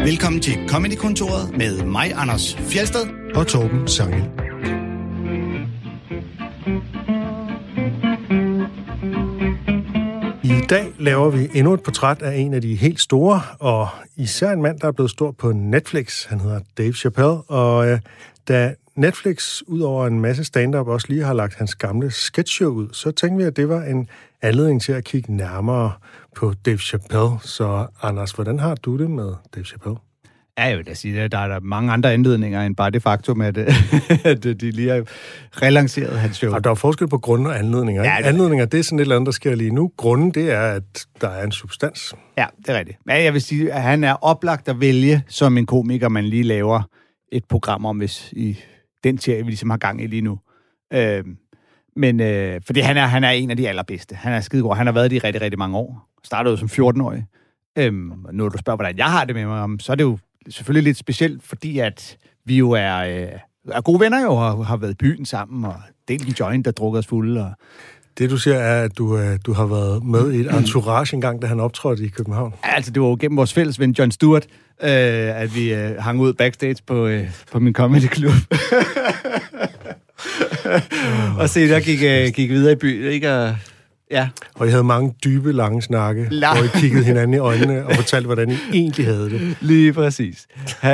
Velkommen til Comedy-kontoret med mig, Anders Fjeldsted og Torben Sangel. I dag laver vi endnu et portræt af en af de helt store, og især en mand, der er blevet stor på Netflix. Han hedder Dave Chappelle, og da Netflix ud over en masse stand-up også lige har lagt hans gamle sketchshow ud, så tænkte vi, at det var en anledning til at kigge nærmere på Dave Chappelle. Så Anders, hvordan har du det med Dave Chappelle? Ja, jeg vil da sige, at der er mange andre anledninger end bare det faktum, at de lige har relanceret hans show. Og der er forskel på grunde og anledninger. Ja, anledninger, det er sådan et eller andet, der sker lige nu. Grunden, det er, at der er en substans. Ja, det er rigtigt. Men jeg vil sige, at han er oplagt at vælge som en komiker, man lige laver et program om, hvis i den serie, vi ligesom har gang i lige nu. Fordi han er en af de allerbedste. Han er skidegod. Han har været det i rigtig, rigtig mange år. Startede jo som 14-årig. Når du spørger, hvordan jeg har det med mig, så er det jo selvfølgelig lidt specielt, fordi at vi jo er gode venner jo, og har været i byen sammen, og delt en joint, der drukker os fulde. Og... Det, du siger, er, at du har været med i et entourage engang, da han optrådte i København. Altså, det var jo gennem vores fælles ven, Jon Stewart, at vi hang ud backstage på min comedy-klub. Og se, der gik videre i byen, ikke? Ja. Og I havde mange dybe, lange snakke, hvor I kiggede hinanden i øjnene og fortalte, hvordan I egentlig havde det. Lige præcis.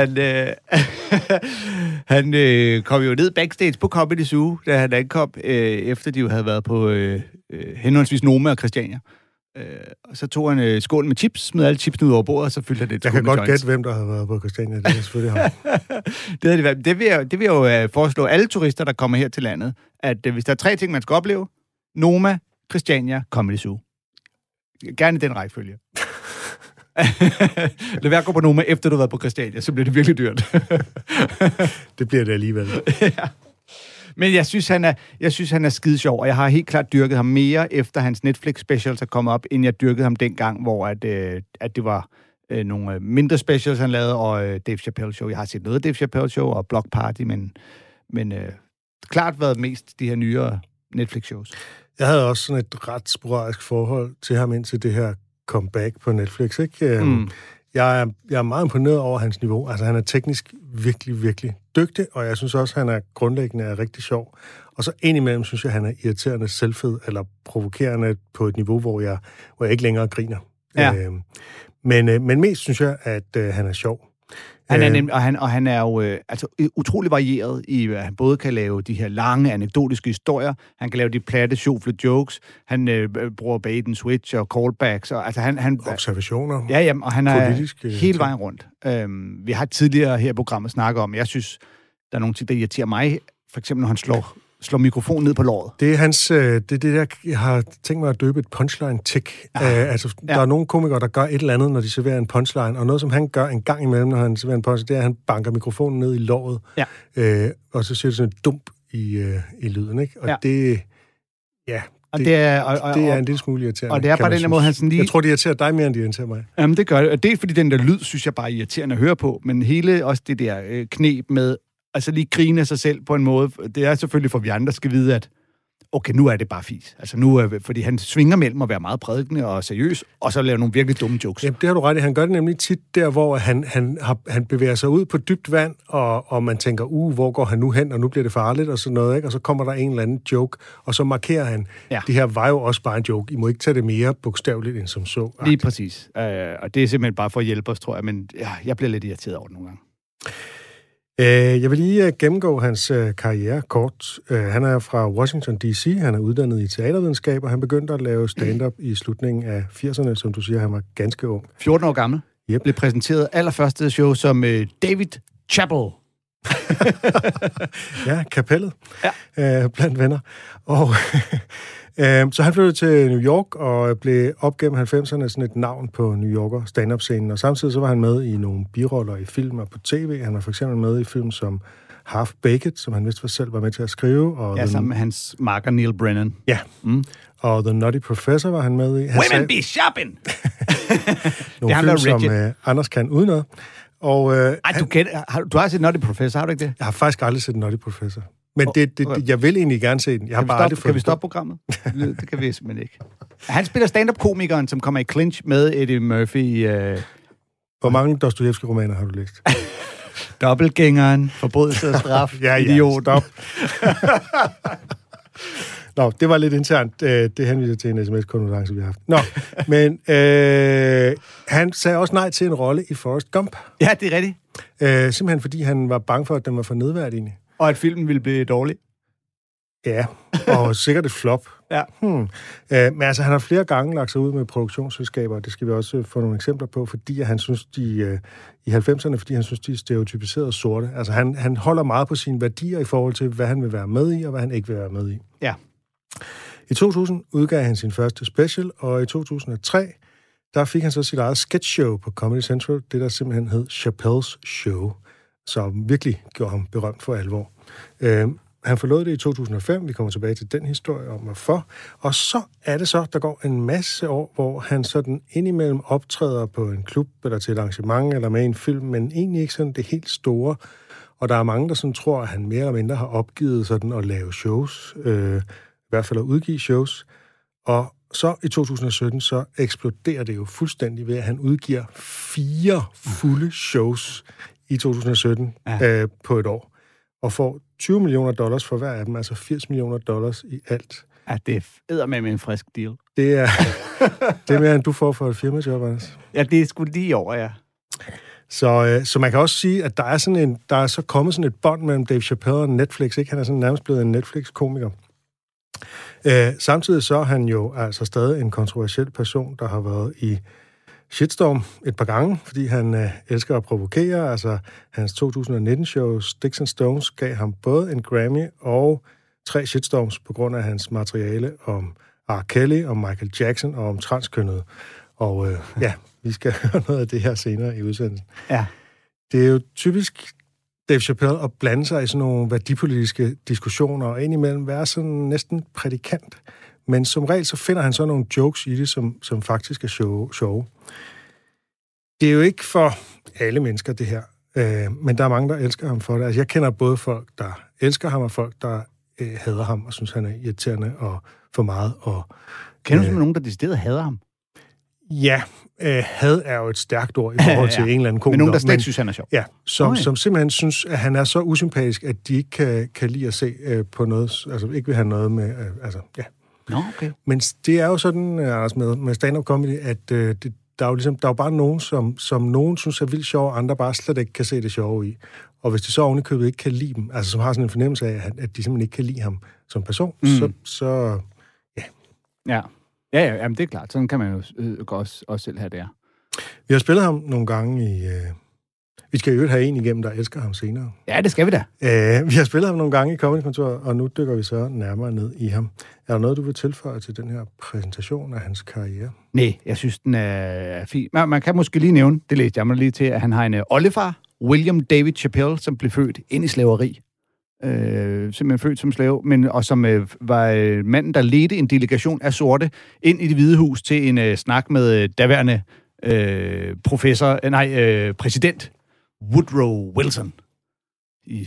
Han kom jo ned backstage på Comedy Zoo, da han ankom, efter de jo havde været på henholdsvis Noma og Christiania. Og så tog han skål med chips, smed alle chipsene ud over bordet, og så fyldte han det. Jeg kan godt gætte, hvem der havde været på Christiania. Det er selvfølgelig ham. Det vil jeg jo foreslå alle turister, der kommer her til landet, at hvis der er 3 ting, man skal opleve: Noma, Christiania, Comedy Zoo. Gerne den rækkefølge. Lad være at gå på Noma, efter du har været på Christiania, så bliver det virkelig dyrt. Det bliver det alligevel. Ja. Men jeg synes, han er skide sjov, og jeg har helt klart dyrket ham mere, efter hans Netflix-specials er kommet op, end jeg dyrkede ham dengang, hvor at det var nogle mindre specials, han lavede, og Dave Chappelle Show. Jeg har set noget af Dave Chappelle Show og Block Party, men klart været mest de her nyere Netflix-shows. Jeg havde også sådan et ret sporadisk forhold til ham indtil det her comeback på Netflix, ikke? Jeg er meget imponeret over hans niveau. Altså, han er teknisk virkelig, virkelig dygtig, og jeg synes også, han er grundlæggende er rigtig sjov. Og så indimellem synes jeg, han er irriterende selvfed, eller provokerende på et niveau, hvor jeg ikke længere griner. Ja. Men mest synes jeg, at han er sjov. Han er jo utrolig varieret i, at han både kan lave de her lange anekdotiske historier, han kan lave de platte, sjofle jokes, han bruger bait and switch og callbacks, og altså han observationer. Ja, jamen, og han er hele vejen rundt. Vi har tidligere her i programmet snakket om, jeg synes, der er nogle ting, der irriterer mig, for eksempel når han slår mikrofonen ned på låret. Det er det der, jeg har tænkt mig at døbe et punchline-tick. Der er nogle komikere, der gør et eller andet, når de serverer en punchline, og noget, som han gør en gang imellem, når han serverer en punchline, det er, at han banker mikrofonen ned i låret, og så siger det sådan et dump i lyden, ikke? Og det er en lille smule irriterende. Og det er bare den måde, han sådan lige... Jeg tror, det irriterer dig mere, end det irriterer mig. Jamen, det gør det. Og det er fordi den der lyd, synes jeg bare er irriterende at høre på, men hele også det der knep med altså lige grine af sig selv på en måde. Det er selvfølgelig for, vi andre skal vide, at okay, nu er det bare fis. Altså nu, fordi han svinger mellem at være meget prædikende og seriøs, og så lave nogle virkelig dumme jokes. Jamen, det har du ret i. Han gør det nemlig tit der, hvor han bevæger sig ud på dybt vand, og man tænker, hvor går han nu hen, og nu bliver det farligt, og sådan noget, ikke? Og så kommer der en eller anden joke, og så markerer han, det her var jo også bare en joke. I må ikke tage det mere bogstaveligt end som så. Lige præcis. Og det er simpelthen bare for at hjælpe os, tror jeg, men jeg bliver lidt irriteret over det nogle gange. Jeg vil lige gennemgå hans karriere kort. Han er fra Washington, D.C. Han er uddannet i teatervidenskab, og han begyndte at lave stand-up i slutningen af 80'erne, som du siger, han var ganske ung. 14 år gammel. Yep. Blev præsenteret allerførste show som David Chappelle. Ja, kapellet. Ja. Blandt venner. Og så han flyttede til New York og blev op gennem 90'erne sådan et navn på New Yorker stand-up-scenen. Og samtidig så var han med i nogle biroller i film og på tv. Han var for eksempel med i film som Half Baked, som han vist selv var med til at skrive. Og sammen med hans makker Neil Brennan. Ja, og The Nutty Professor var han med i. Women be shopping! Nogle film, som Anders kan udenad. Og, du har set Nutty Professor, har du ikke det? Jeg har faktisk aldrig set Nutty Professor. Men jeg vil egentlig gerne se den. Kan vi stoppe programmet? Det kan vi simpelthen ikke. Han spiller stand-up-komikeren, som kommer i clinch med Eddie Murphy i Hvor mange Dostojevskij-romaner har du læst? Dobbeltgængeren, forbrydelse og straf, idiot. Stop. Nå, det var lidt internt. Det henviser til en sms-konference, vi har haft. Nå, men han sagde også nej til en rolle i Forrest Gump. Ja, det er rigtigt. Simpelthen fordi han var bange for, at den var for nedværdigende. Og at filmen ville blive dårlig. Ja, og sikkert et flop. Ja. Men altså, han har flere gange lagt sig ud med produktionsselskaber, og det skal vi også få nogle eksempler på, fordi han synes, i 90'erne, fordi han synes, de er stereotypiseret sorte. Altså, han holder meget på sine værdier i forhold til, hvad han vil være med i, og hvad han ikke vil være med i. Ja. I 2000 udgav han sin første special, og i 2003, der fik han så sit eget sketchshow på Comedy Central, det der simpelthen hed Chappelle's Show, som virkelig gjorde ham berømt for alvor. Han forlod det i 2005, vi kommer tilbage til den historie om hvorfor, og så er det så, der går en masse år, hvor han sådan indimellem optræder på en klub, eller til et arrangement, eller med en film, men egentlig ikke sådan det helt store, og der er mange, der sådan tror, at han mere eller mindre har opgivet sådan at lave shows, i hvert fald at udgive shows, og så i 2017, så eksploderer det jo fuldstændig ved, at han udgiver 4 fulde shows i 2017 på et år, og får $20 million for hver af dem, altså $80 million i alt. Ja, det er eddermame med en frisk deal. Det er mere, end du får for et firmajob, Anders. Ja, det er sgu lige over, ja. Så man kan også sige, at der er så kommet sådan et bånd mellem Dave Chappelle og Netflix, ikke? Han er sådan nærmest blevet en Netflix-komiker. Samtidig så er han jo altså stadig en kontroversiel person, der har været i shitstorm et par gange, fordi han elsker at provokere. Altså, hans 2019-show Sticks and Stones gav ham både en Grammy og 3 shitstorms på grund af hans materiale om R. Kelly, om Michael Jackson og om transkønnede. Og vi skal høre noget af det her senere i udsendelsen. Ja. Det er jo typisk Dave Chappelle at blande sig i sådan nogle værdipolitiske diskussioner, og indimellem være sådan næsten prædikant. Men som regel, så finder han så nogle jokes i det, som faktisk er sjove. Det er jo ikke for alle mennesker, det her. Men der er mange, der elsker ham for det. Altså, jeg kender både folk, der elsker ham, og folk, der hader ham, og synes, han er irriterende og for meget. Kender du nogen, der decideret hader ham? Ja, had er jo et stærkt ord i forhold til en eller anden komiker. Men nogen, der slet synes, han er sjov. Ja, som simpelthen synes, at han er så usympatisk, at de ikke kan lide at se på noget, altså ikke vil have noget med, Nå, okay. Men det er jo sådan, Anders, med stand-up comedy, at der er jo bare nogen, som nogen synes er vildt sjov, og andre bare slet ikke kan se det sjove i. Og hvis de så ovenikøbet ikke kan lide dem, altså som har sådan en fornemmelse af, at de simpelthen ikke kan lide ham som person, så Ja. Ja, jamen det er klart. Sådan kan man jo også selv have det her. Vi har spillet ham nogle gange i... Vi skal jo have en igennem, der elsker ham senere. Ja, det skal vi da. Vi har spillet ham nogle gange i Comedy-kontoret, og nu dykker vi så nærmere ned i ham. Er der noget, du vil tilføje til den her præsentation af hans karriere? Nej, jeg synes, den er fin. Man kan måske lige nævne, det læste jeg mig lige til, at han har en oldefar, William David Chappelle, som blev født ind i slaveri. Simpelthen født som slave, og som var manden, der ledte en delegation af sorte ind i Det Hvide Hus til en snak med daværende præsident Woodrow Wilson i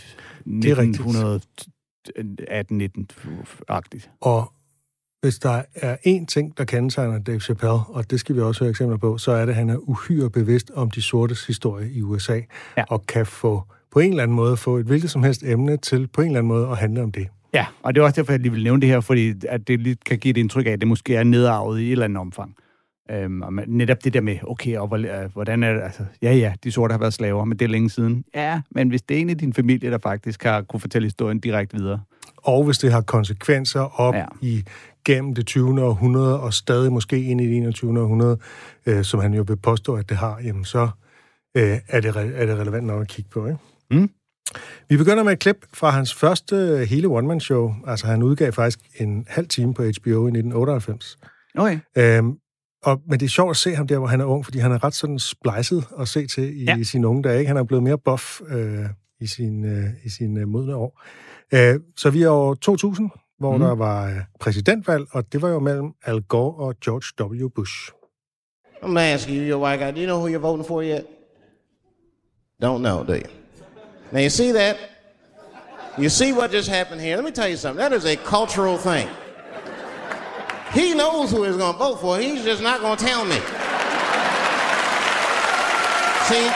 1918-19-agtigt. Og hvis der er én ting, der kendetegner Dave Chappelle, og det skal vi også høre eksempler på, så er det, at han er uhyre bevidst om de sortes historie i USA, og kan på en eller anden måde få et hvilket som helst emne til på en eller anden måde at handle om det. Ja, og det er også derfor, jeg lige vil nævne det her, fordi at det lidt kan give et indtryk af, at det måske er nedarvet i et eller andet omfang. Og netop det der med, okay, og hvordan er det, altså, de sorte har været slaver, men det er længe siden. Ja, men hvis det er en af din familie, der faktisk har kunne fortælle historien direkte videre. Og hvis det har konsekvenser op gennem det 20. århundrede, og stadig måske ind i det 21. århundrede, som han jo vil påstå, at det har, jamen så er det relevant nok at kigge på, ikke? Mm. Vi begynder med et klip fra hans første hele one-man-show. Altså, han udgav faktisk en halv time på HBO i 1998. Okay. Men det er sjovt at se ham der, hvor han er ung, fordi han er ret sådan splicet at se til i sine unge dage. Ikke? Han er blevet mere buff i sine modne år. Så vi er år 2000, hvor der var præsidentvalg, og det var jo mellem Al Gore og George W. Bush. I'm gonna ask you, you white guy, do you know who you're voting for yet? Don't know, do you? Now you see that? You see what just happened here? Let me tell you something. That is a cultural thing. He knows who he's going to vote for. He's just not going to tell me. See,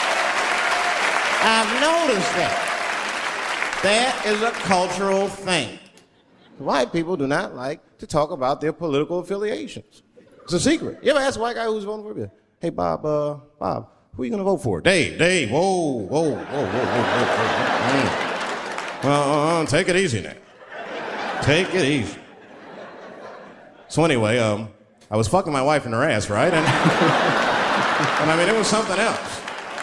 I've noticed that. That is a cultural thing. White people do not like to talk about their political affiliations. It's a secret. You ever ask a white guy who's voting for you? Hey, Bob, who are you going to vote for? Dave, whoa. Well, take it easy now. Take it easy. So anyway, I was fucking my wife in her ass, right? And I mean, it was something else.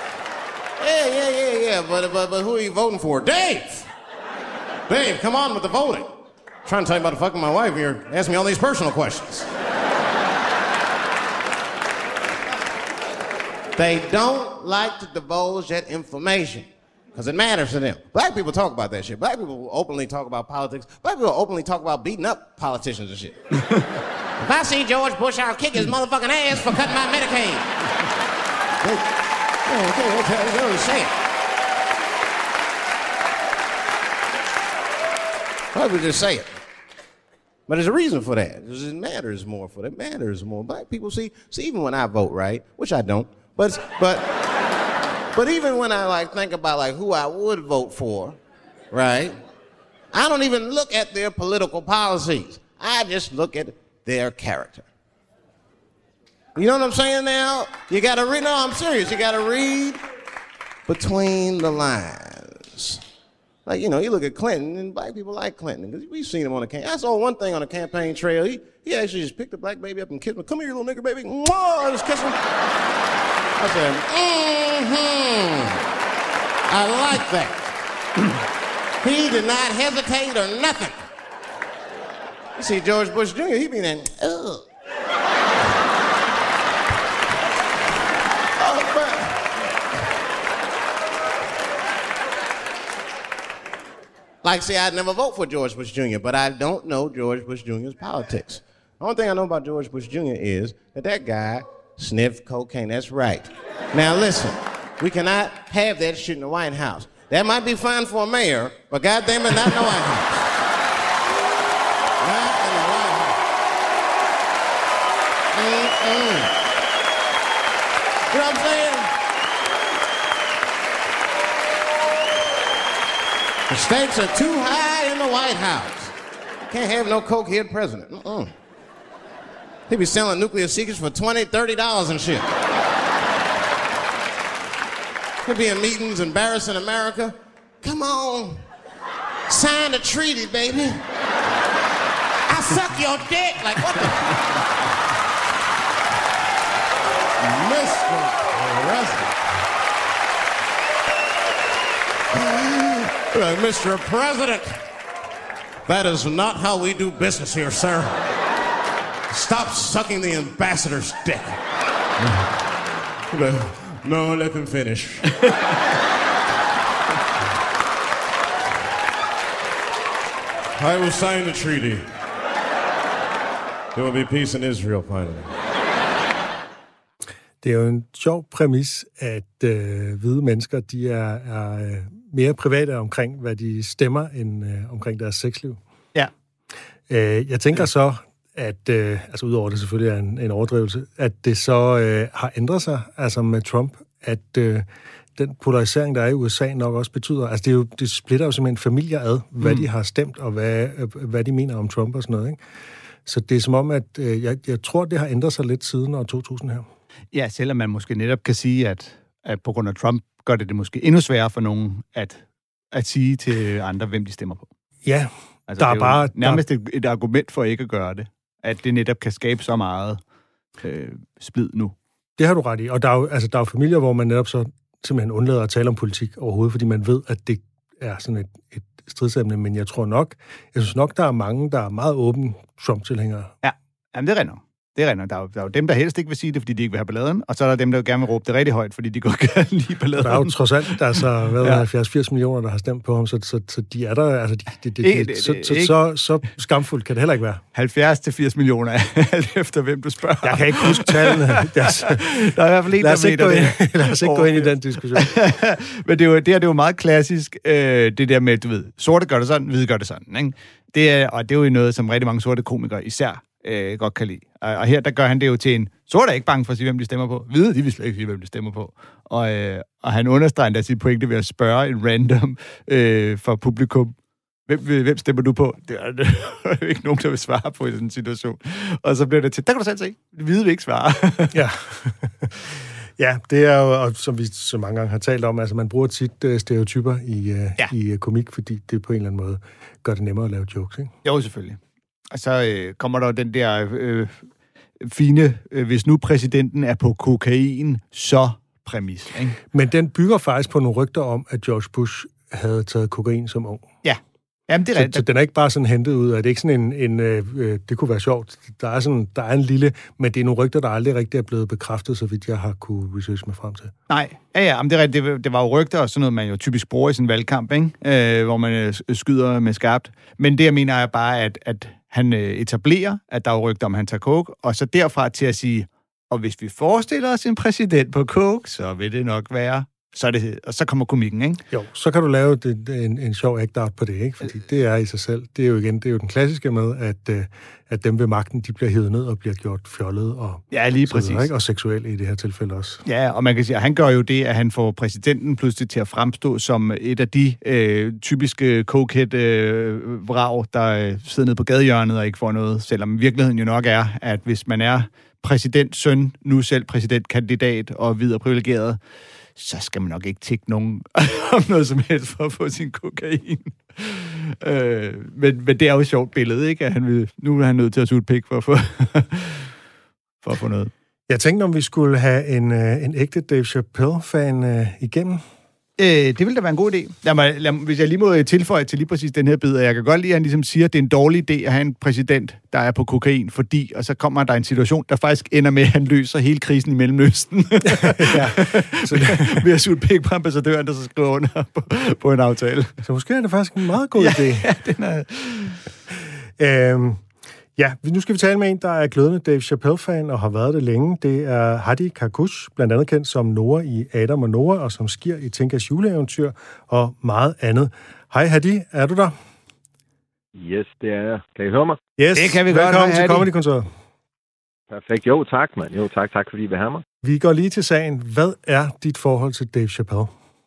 Yeah, but who are you voting for? Dave, come on with the voting. I'm trying to tell you about fucking my wife, and you're asking me all these personal questions. They don't like to divulge that information because it matters to them. Black people talk about that shit. Black people openly talk about politics. Black people openly talk about beating up politicians and shit. If I see George Bush, I'll kick his motherfucking ass for cutting my Medicaid. Okay, you know say it. Black people just say it. But there's a reason for that. It matters more for them. It matters more. Black people see, even when I vote, right, which I don't, but even when I like think about like who I would vote for, right, I don't even look at their political policies. I just look at their character. You know what I'm saying now? You gotta read, no, I'm serious. You gotta read between the lines. Like, you know, you look at Clinton, and black people like Clinton, because we've seen him on the campaign. I saw one thing on the campaign trail. He actually just picked a black baby up and kissed him. Come here, you little nigger baby. Mwah! Just kiss him. I said, I like that. He did not hesitate or nothing. You see George Bush Jr., he be there, ugh. Like, see, I'd never vote for George Bush Jr., but I don't know George Bush Jr.'s politics. The only thing I know about George Bush Jr. is that guy sniffed cocaine. That's right. Now, listen, we cannot have that shit in the White House. That might be fine for a mayor, but goddamn it, not in the White House. Not in the White House. You know what I'm saying? The stakes are too high in the White House. Can't have no cokehead president. He be selling nuclear secrets for $20, $30 and shit. He'll be in meetings embarrassing America. Come on, sign the treaty, baby. I suck your dick. Like, what the? Mr. President. Mr. President, that is not how we do business here, sir. Stop sucking the ambassador's dick. No, let him finish. I will sign the treaty. There will be peace in Israel, finally. Det er jo en sjov præmis, at hvide mennesker, de er mere private omkring, hvad de stemmer, end omkring deres sexliv. Ja. Jeg tænker så, at, altså udover det selvfølgelig er en overdrivelse, at det så har ændret sig, altså med Trump, at den polarisering, der er i USA, nok også betyder, altså det splitter jo simpelthen familier ad, hvad de har stemt, og hvad de mener om Trump og sådan noget, ikke? Så det er som om, at jeg tror, det har ændret sig lidt siden år 2000 her. Ja, selvom man måske netop kan sige, at på grund af Trump gør det måske endnu sværere for nogen at sige til andre, hvem de stemmer på. Ja, altså, der er bare nærmest et argument for ikke at gøre det. At det netop kan skabe så meget splid nu. Det har du ret i. Og der er jo familier, hvor man netop så simpelthen undlader at tale om politik overhovedet, fordi man ved, at det er sådan et stridsemne. Men jeg synes nok, der er mange, der er meget åbne Trump-tilhængere. Ja, jamen det er rent. Det er rent. Der er jo dem, der helst ikke vil sige det, fordi de ikke vil have balladen, og så er der dem, der gerne vil råbe det rigtig højt, fordi de godt kan lide balladen. Der er jo trods alt, der er så 70-80 millioner, der har stemt på ham, så de er der, altså så skamfuldt kan det heller ikke være. 70-80 millioner, alt efter hvem du spørger. Jeg kan ikke huske tallene. Der er i hvert fald en, lad os ikke gå ind i den diskussion. Men det er jo meget klassisk, det der med, du ved, sorte gør det sådan, hvide gør det sådan, ikke? Det er jo noget, som rigtig mange sorte komikere især godt kan lide. Og her, der gør han det jo til en, så er der ikke bange for at sige, hvem de stemmer på. Vide, de vil slet ikke sige, hvem de stemmer på. Og han understreger endda sit pointe ved at spørge en random for publikum, hvem stemmer du på? Det er jo ikke nogen, der vil svare på i sådan en situation. Og så bliver det til, der kan du selv se, Vide vil ikke svare. Ja. Ja, det er jo, som vi så mange gange har talt om, altså man bruger tit stereotyper i komik, fordi det på en eller anden måde gør det nemmere at lave jokes, ikke? Jo, selvfølgelig. Og så kommer der den der fine, hvis nu præsidenten er på kokain, så præmis, ikke? Men den bygger faktisk på nogle rygter om, at George Bush havde taget kokain som ung. Ja. Jamen, det er rigtigt. Så den er ikke bare sådan hentet ud af, det er ikke sådan det kunne være sjovt. Der er en lille, men det er nogle rygter, der aldrig rigtig er blevet bekræftet, så vidt jeg har kunne researche mig frem til. Nej, ja, men det er rigtigt. Det var jo rygter, og sådan noget, man jo typisk bruger i sådan en valgkamp, ikke? Hvor man skyder med skarpt. Men det, jeg mener, er bare, at han etablerer, at der er rygter om, han tager coke, og så derfra til at sige, og hvis vi forestiller os en præsident på coke, så vil det nok være... Og så kommer komikken, ikke? Jo, så kan du lave en sjov act-out på det, ikke? Fordi det er i sig selv. Det er jo den klassiske med, at dem ved magten, de bliver hævet ned og bliver gjort fjollet og... Ja, lige præcis. Videre, ikke? Og seksuelle i det her tilfælde også. Ja, og man kan sige, at han gør jo det, at han får præsidenten pludselig til at fremstå som et af de typiske cokehead-vrag, der sidder nede på gadehjørnet og ikke får noget, selvom virkeligheden jo nok er, at hvis man er præsidentsøn, nu selv præsidentkandidat og videre privilegeret, så skal man nok ikke tikke nogen om noget som helst for at få sin kokain. Men det er jo et sjovt billede, ikke? At nu er han nødt til at suge et pik for at få noget. Jeg tænkte, om vi skulle have en ægte Dave Chappelle-fan igennem. Det ville da være en god idé. Hvis jeg lige må tilføje til lige præcis den her bid, jeg kan godt lide, at han ligesom siger, at det er en dårlig idé at have en præsident, der er på kokain, fordi, og så kommer der en situation, der faktisk ender med, at han løser hele krisen i Mellemøsten. Ja. Ved at suge et pik på ambassadøren, der så skriver under på en aftale. Så måske er det faktisk en meget god idé. Ja, den er... Ja, nu skal vi tale med en, der er glødende Dave Chappelle-fan og har været det længe. Det er Hadi Karkush, blandt andet kendt som Noah i Adam og Noah, og som sker i Tinkas juleeventyr og meget andet. Hej Hadi, er du der? Yes, det er jeg. Kan I høre mig? Yes, det kan vi godt. Velkommen til Comedy-kontoret. Perfekt. Jo, tak, mand. Jo, tak fordi I vil have mig. Vi går lige til sagen. Hvad er dit forhold til Dave Chappelle?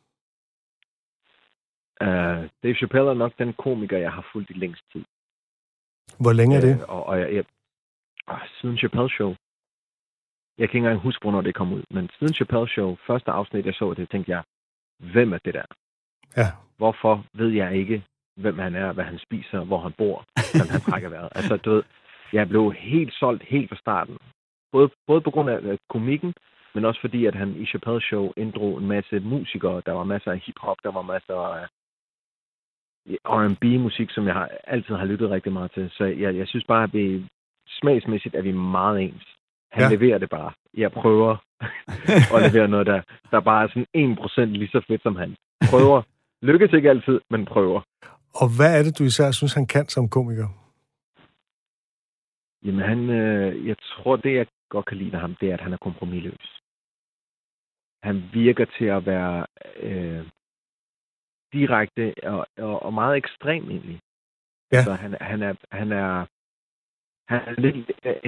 Dave Chappelle er nok den komiker, jeg har fulgt i længst tid. Hvor længe er det? Siden Chappelle Show. Jeg kan ikke engang huske, hvornår det kom ud. Men siden Chappelle Show, første afsnit, jeg så det, tænkte jeg, hvem er det der? Ja. Hvorfor ved jeg ikke, hvem han er, hvad han spiser, hvor han bor, hvordan han trækker vejret? Altså, du ved, jeg blev helt solgt helt fra starten. Både på grund af komikken, men også fordi, at han i Chappelle Show inddrog en masse musikere. Der var masser af hiphop, der var masser af R&B-musik, som jeg altid har lyttet rigtig meget til. Så jeg synes bare, at vi smagsmæssigt er vi meget ens. Han leverer det bare. Jeg prøver at levere noget, der bare er sådan 1% lige så fedt som han. Prøver. Lykkes ikke altid, men prøver. Og hvad er det, du især synes, han kan som komiker? Jamen, jeg tror, det jeg godt kan lide af ham, det er, at han er kompromisløs. Han virker til at være direkte og meget ekstrem egentlig. Ja. Altså, han er lidt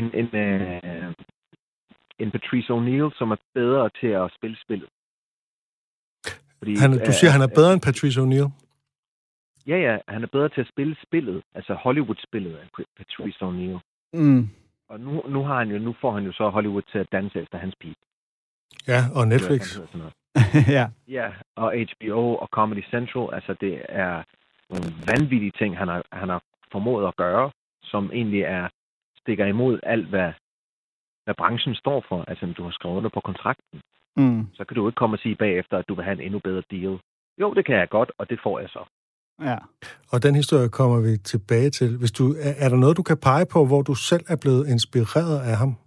en Patrice O'Neill, som er bedre til at spille spillet. Fordi, du siger, han er bedre end Patrice O'Neill? Ja, han er bedre til at spille spillet, altså Hollywood-spillet af Patrice O'Neill. Mm. Og nu får han jo så Hollywood til at danse efter hans pige. Ja, og Netflix. Ja, og HBO og Comedy Central, altså det er nogle vanvittige ting, han har formået at gøre, som egentlig stikker imod alt, hvad branchen står for. Altså, når du har skrevet under på kontrakten, så kan du ikke komme og sige bagefter, at du vil have en endnu bedre deal. Jo, det kan jeg godt, og det får jeg så. Ja. Og den historie kommer vi tilbage til. Er der noget, du kan pege på, hvor du selv er blevet inspireret af ham?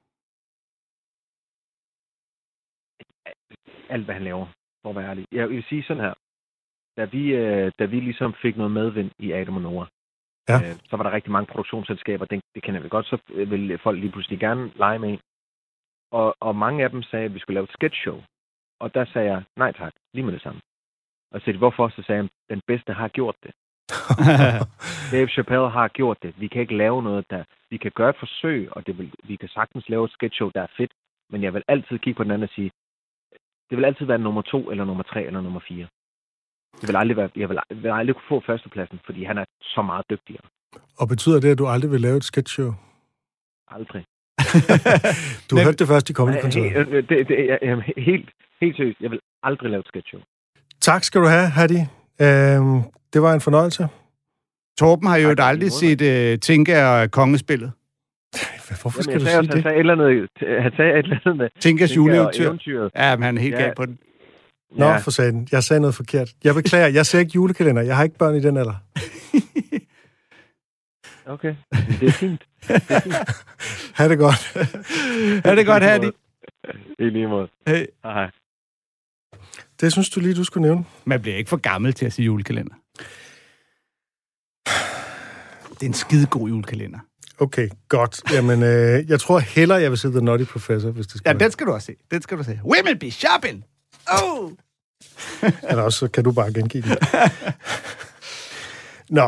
Alt, hvad han laver, for at være ærlig. Jeg vil sige sådan her. Da vi ligesom fik noget medvind i Adam og Noah, så var der rigtig mange produktionsselskaber, det kender vi godt, så ville folk lige pludselig gerne lege med en. Og mange af dem sagde, at vi skulle lave et sketchshow. Og der sagde jeg, nej tak, lige med det samme. Og så sagde de, hvorfor? Så sagde jeg, den bedste har gjort det. Dave Chappelle har gjort det. Vi kan ikke lave noget, der... Vi kan gøre et forsøg, og vi kan sagtens lave et sketchshow, der er fedt, men jeg vil altid kigge på den anden og sige, det vil altid være nummer 2, eller nummer 3, eller nummer 4. Det vil aldrig være, jeg vil aldrig kunne få førstepladsen, fordi han er så meget dygtigere. Og betyder det, at du aldrig vil lave et sketchshow? Aldrig. Du hørte det først i Comedy-kontoret. Helt seriøst. Jeg vil aldrig lave et sketchshow. Tak skal du have, Hadi. Det var en fornøjelse. Torben har jo aldrig set Tinka kongespillet. Hvorfor skal du sige det? Han sagde et eller andet med Tinkas juleeventyr. Ja, men han er helt galt på den. Nå, for satan. Jeg sagde noget forkert. Jeg beklager, jeg ser ikke julekalender. Jeg har ikke børn i den alder. Okay, det er fint. Ha' det godt. Ha' det godt, Hadi. I lige måde. Hey. Hej. Det synes du lige, du skulle nævne. Man bliver ikke for gammel til at sige julekalender. Det er en skidegod julekalender. Okay, godt. Jamen, jeg tror hellere, jeg vil se The Nutty Professor, hvis det skal Ja, den skal du også se. Den skal du se. Women be shopping! Oh! Eller også, så kan du bare gengive den. Nå,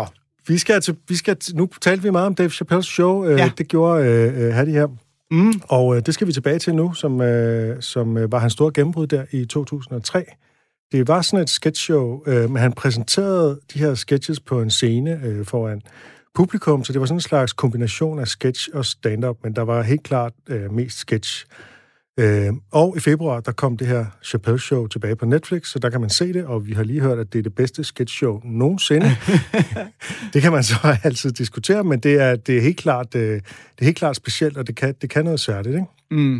nu talte vi meget om Dave Chappelles show. Ja. Det gjorde Hadi her. Og det skal vi tilbage til nu, som var hans store gennembrud der i 2003. Det var sådan et sketchshow, men han præsenterede de her sketches på en scene foran publikum, så det var sådan en slags kombination af sketch og stand-up, men der var helt klart mest sketch. Og i februar, der kom det her Chappelle Show tilbage på Netflix, så der kan man se det, og vi har lige hørt, at det er det bedste sketchshow nogensinde. Det kan man så altid diskutere, men det er helt klart specielt, og det kan noget særligt, ikke?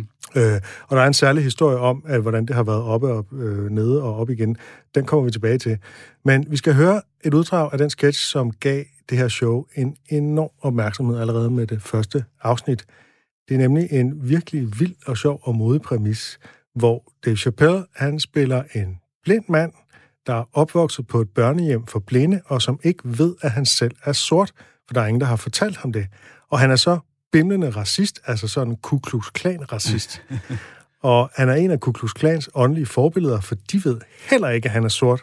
Og der er en særlig historie om, at hvordan det har været oppe og nede og op igen. Den kommer vi tilbage til. Men vi skal høre et uddrag af den sketch, som gav det her show en enorm opmærksomhed allerede med det første afsnit. Det er nemlig en virkelig vild og sjov og modig præmis, hvor Dave Chappelle, han spiller en blind mand, der er opvokset på et børnehjem for blinde, og som ikke ved, at han selv er sort, for der er ingen, der har fortalt ham det. Og han er så bimlende racist, altså sådan en Ku Klux Klan-racist. Og han er en af Ku Klux Klans åndelige forbilleder, for de ved heller ikke, at han er sort.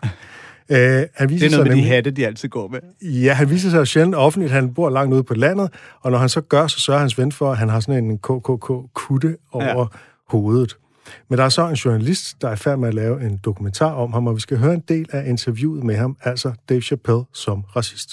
Han viser det er noget med de hatte, de altid går med. Ja, han viser sig jo sjældent offentligt. Han bor langt ude på landet, og når han så gør, så sørger hans ven for, at han har sådan en KKK-kutte over hovedet. Men der er så en journalist, der er i færd med at lave en dokumentar om ham, og vi skal høre en del af interviewet med ham, altså Dave Chappelle som racist.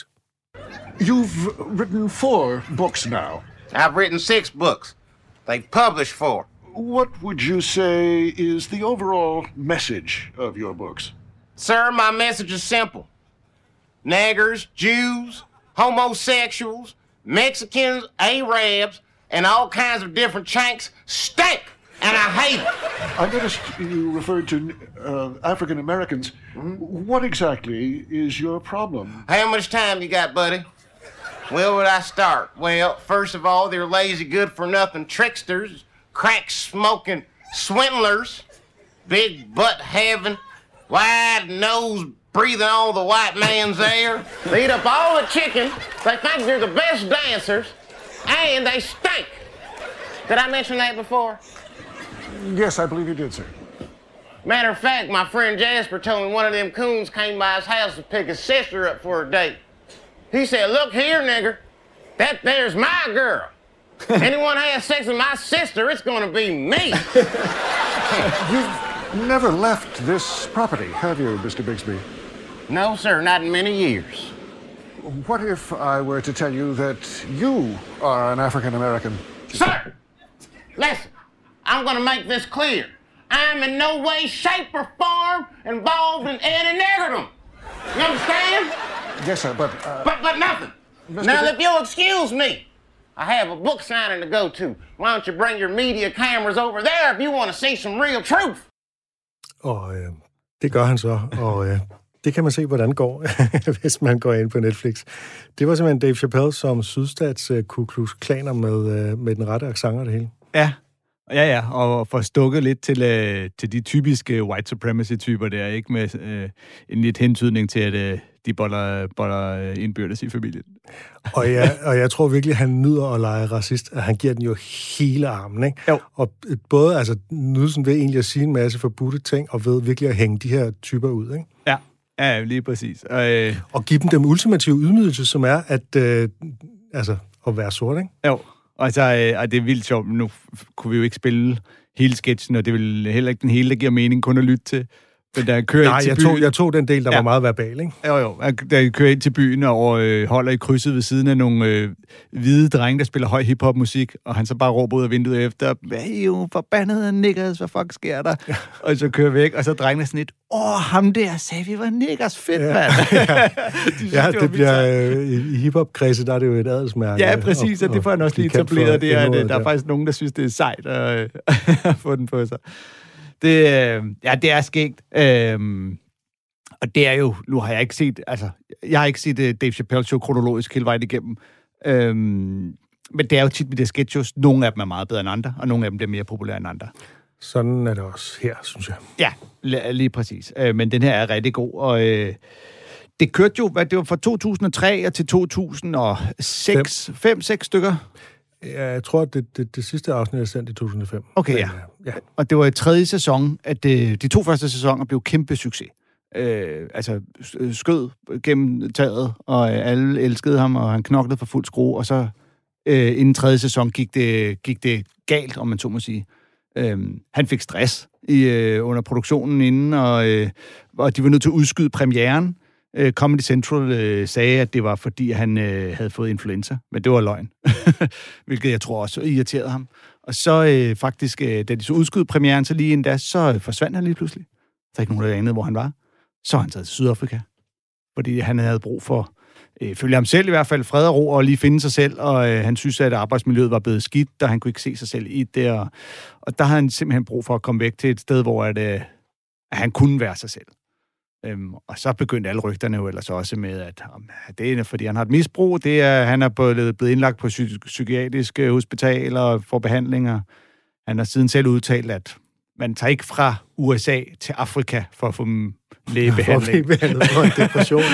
You've written 4 books now. I've written 6 books. They've published 4. What would you say is the overall message of your books? Sir, my message is simple. Niggers, Jews, homosexuals, Mexicans, Arabs, and all kinds of different chanks stink, and I hate it. I noticed you referred to African Americans. What exactly is your problem? How much time you got, buddy? Where would I start? Well, first of all, they're lazy, good-for-nothing tricksters, crack-smoking swindlers, big butt-having, wide-nosed, breathing all the white man's air. They eat up all the chicken. They think they're the best dancers, and they stink. Did I mention that before? Yes, I believe you did, sir. Matter of fact, my friend Jasper told me one of them coons came by his house to pick his sister up for a date. He said, "Look here, nigger, that there's my girl. Anyone has sex with my sister, it's gonna be me." You've never left this property, have you, Mr. Bigsby? No, sir, not in many years. What if I were to tell you that you are an African American? Sir, listen, I'm gonna make this clear. I'm in no way, shape, or form involved in any niggerdom. You understand? Yes, sir, but... But nothing. Now, if you'll excuse me, I have a book signing to go to. Why don't you bring your media cameras over there if you want to see some real truth? Og det gør han så, og det kan man se, hvordan det går, hvis man går ind på Netflix. Det var simpelthen Dave Chappelle som sydstats Ku Klux Klaner med den rette accent og det hele. Ja, og få stukket lidt til de typiske white supremacy-typer der, ikke med en lidt hentydning til, at de boller indbyrdes i familien. Og jeg tror virkelig, han nyder at lege racist, at han giver den jo hele armen, ikke? Jo. Og både nydelsen ved egentlig at sige en masse forbudte ting, og ved virkelig at hænge de her typer ud, ikke? Ja. Ja, lige præcis. Og give dem den ultimative ydmygelse, som er at være sort, ikke? Jo, og det er vildt sjovt. Nu kunne vi jo ikke spille hele sketchen, og det er vel heller ikke den hele, der giver mening kun at lytte til. Men der kører jeg tog den del, der var meget verbal, ikke? Jo. Der kører ind til byen og holder i krydset ved siden af nogle hvide drenge, der spiller høj hiphop-musik, og han så bare råber ud af vinduet efter, hey, jo, forbandede niggers, hvad fuck sker der? Ja. Og så kører væk, og så drengene sådan lidt, ham der sagde, vi var niggers, fedt, mand. Det bliver i hiphop-kredse, der er det jo et adelsmærke. Ja, præcis, og det får han også lige etableret, det er, at der er faktisk nogen, der synes, det er sejt at få den på sig. Det er skægt. Og det er jo, nu har jeg ikke set, jeg har ikke set Dave Chappelle Show kronologisk hele vejen igennem. Men det er jo tit med de sketches, nogle af dem er meget bedre end andre, og nogle af dem bliver mere populære end andre. Sådan er det også her, synes jeg. Ja, lige præcis. Men den her er rigtig god, og det kørte jo, det var fra 2003 til 2006, 5-6 stykker. Ja, jeg tror, at det sidste afsnit er sendt i 2005. Okay, ja. Og det var i tredje sæson, at de 2 første sæsoner blev kæmpe succes. Skød gennem taget, og alle elskede ham, og han knoklede for fuld skrue, og så inden tredje sæson gik det galt, om man så må sige. Han fik stress under produktionen inden, og de var nødt til at udskyde premieren. Comedy Central sagde, at det var, fordi han havde fået influenza, men det var løgn, hvilket jeg tror også irriterede ham. Og så faktisk, da de så udskød premieren, så lige endda, så forsvandt han lige pludselig. Der er ikke nogen, der anede, hvor han var. Så han taget til Sydafrika, fordi han havde brug for, følge ham selv i hvert fald, fred og ro, og lige finde sig selv, og han synes, at arbejdsmiljøet var blevet skidt, og han kunne ikke se sig selv i det, og der havde han simpelthen brug for at komme væk til et sted, hvor at han kunne være sig selv. Og så begyndte alle rygterne jo ellers også med, at det er fordi han har et misbrug, han er blevet indlagt på psykiatrisk hospital og får behandlinger. Han har siden selv udtalt, at man tager ikke fra USA til Afrika for at få lægebehandling. For en depression.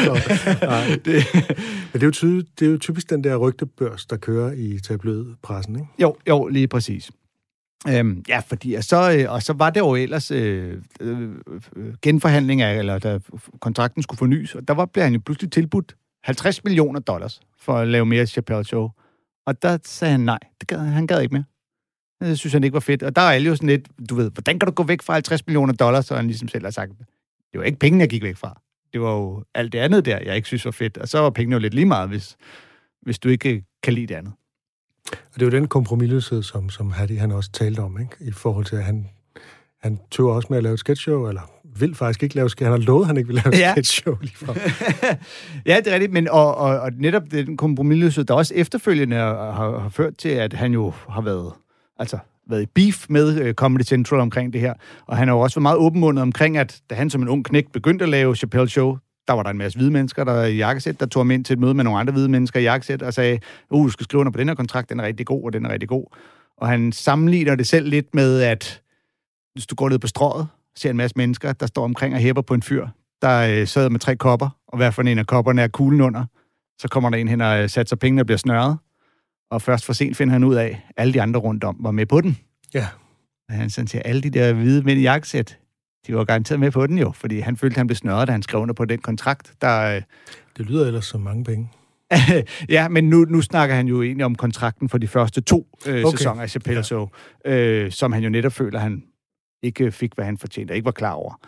Men det er jo typisk den der rygtebørs, der kører i tabloidpressen, ikke? Jo, lige præcis. Fordi og så var det jo ellers genforhandlinger, eller da kontrakten skulle fornyes, og der blev han jo pludselig tilbudt $50 million for at lave mere Chappelle Show. Og der sagde han nej, han gad ikke mere. Det synes han ikke var fedt. Og der er alle jo sådan lidt, du ved, hvordan kan du gå væk fra $50 million, så han ligesom selv har sagt, det var ikke penge, jeg gik væk fra. Det var jo alt det andet der, jeg ikke synes var fedt. Og så var pengene jo lidt lige meget, hvis du ikke kan lide det andet. Og det er jo den kompromisløshed, som Hattie han også talte om, ikke? I forhold til, at han tøver også med at lave et sketchshow, eller vil faktisk ikke lave sketchshow. Han har lovet, at han ikke vil lave et sketchshow lige fra. Ja, det er rigtigt, men og netop den kompromisløshed, der også efterfølgende har ført til, at han jo har været i beef med Comedy Central omkring det her, og han har jo også været meget åbenmundet omkring, at da han som en ung knægt begyndte at lave Chappelle Show, der var der en masse hvide mennesker, der i jakkesæt, der tog ham ind til et møde med nogle andre hvide mennesker i jakkesæt, og sagde, du skal skrive under på den her kontrakt, den er rigtig god, og den er rigtig god. Og han sammenligner det selv lidt med, at hvis du går ned på strået, ser en masse mennesker, der står omkring og hæpper på en fyr, der sidder med 3 kopper, og hver for en af kopperne er kuglen under, så kommer der en hen og satser pengene og bliver snørret, og først for sent finder han ud af, at alle de andre rundt om var med på den. Ja. Og han sådan siger, alle de der hvide mænd i jakkesæt, de var garanteret med på den jo, fordi han følte, at han blev snørret, da han skrev under på den kontrakt. Det lyder ellers som mange penge. Ja, men nu snakker han jo egentlig om kontrakten for de første 2 sæsoner af Chappelle Show, som han jo netop føler, han ikke fik, hvad han fortjente, og ikke var klar over.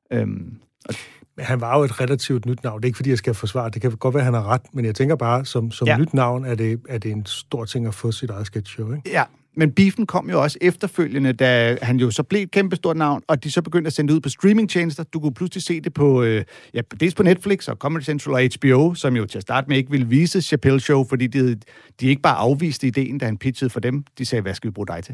Men han var jo et relativt nyt navn. Det er ikke, fordi jeg skal forsvare. Det kan godt være, at han har ret, men jeg tænker bare, som nyt navn er det en stor ting at få sit eget sketchshow, ikke? Ja. Men beefen kom jo også efterfølgende, da han jo så blev et kæmpestort navn, og de så begyndte at sende det ud på streamingtjenester. Du kunne pludselig se det på, dels på Netflix og Comedy Central og HBO, som jo til at starte med ikke ville vise Chappelle Show, fordi de ikke bare afviste ideen, da han pitchede for dem. De sagde, hvad skal vi bruge dig til?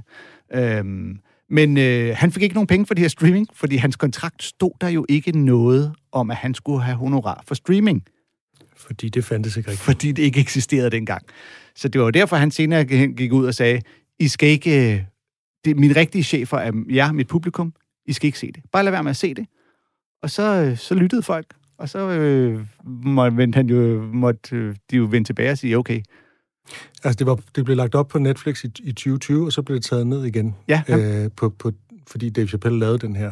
Men han fik ikke nogen penge for det her streaming, fordi hans kontrakt stod der jo ikke noget om, at han skulle have honorar for streaming. Fordi det fandtes ikke rigtigt. Fordi det ikke eksisterede dengang. Så det var jo derfor, han senere gik ud og sagde, I skal ikke... mine rigtige chefer er jer, mit publikum. I skal ikke se det. Bare lad være med at se det. Og så lyttede folk. Og så måtte de jo vende tilbage og sige, okay. Altså, det blev lagt op på Netflix i 2020, og så blev det taget ned igen. Ja. Fordi Dave Chappelle lavede den her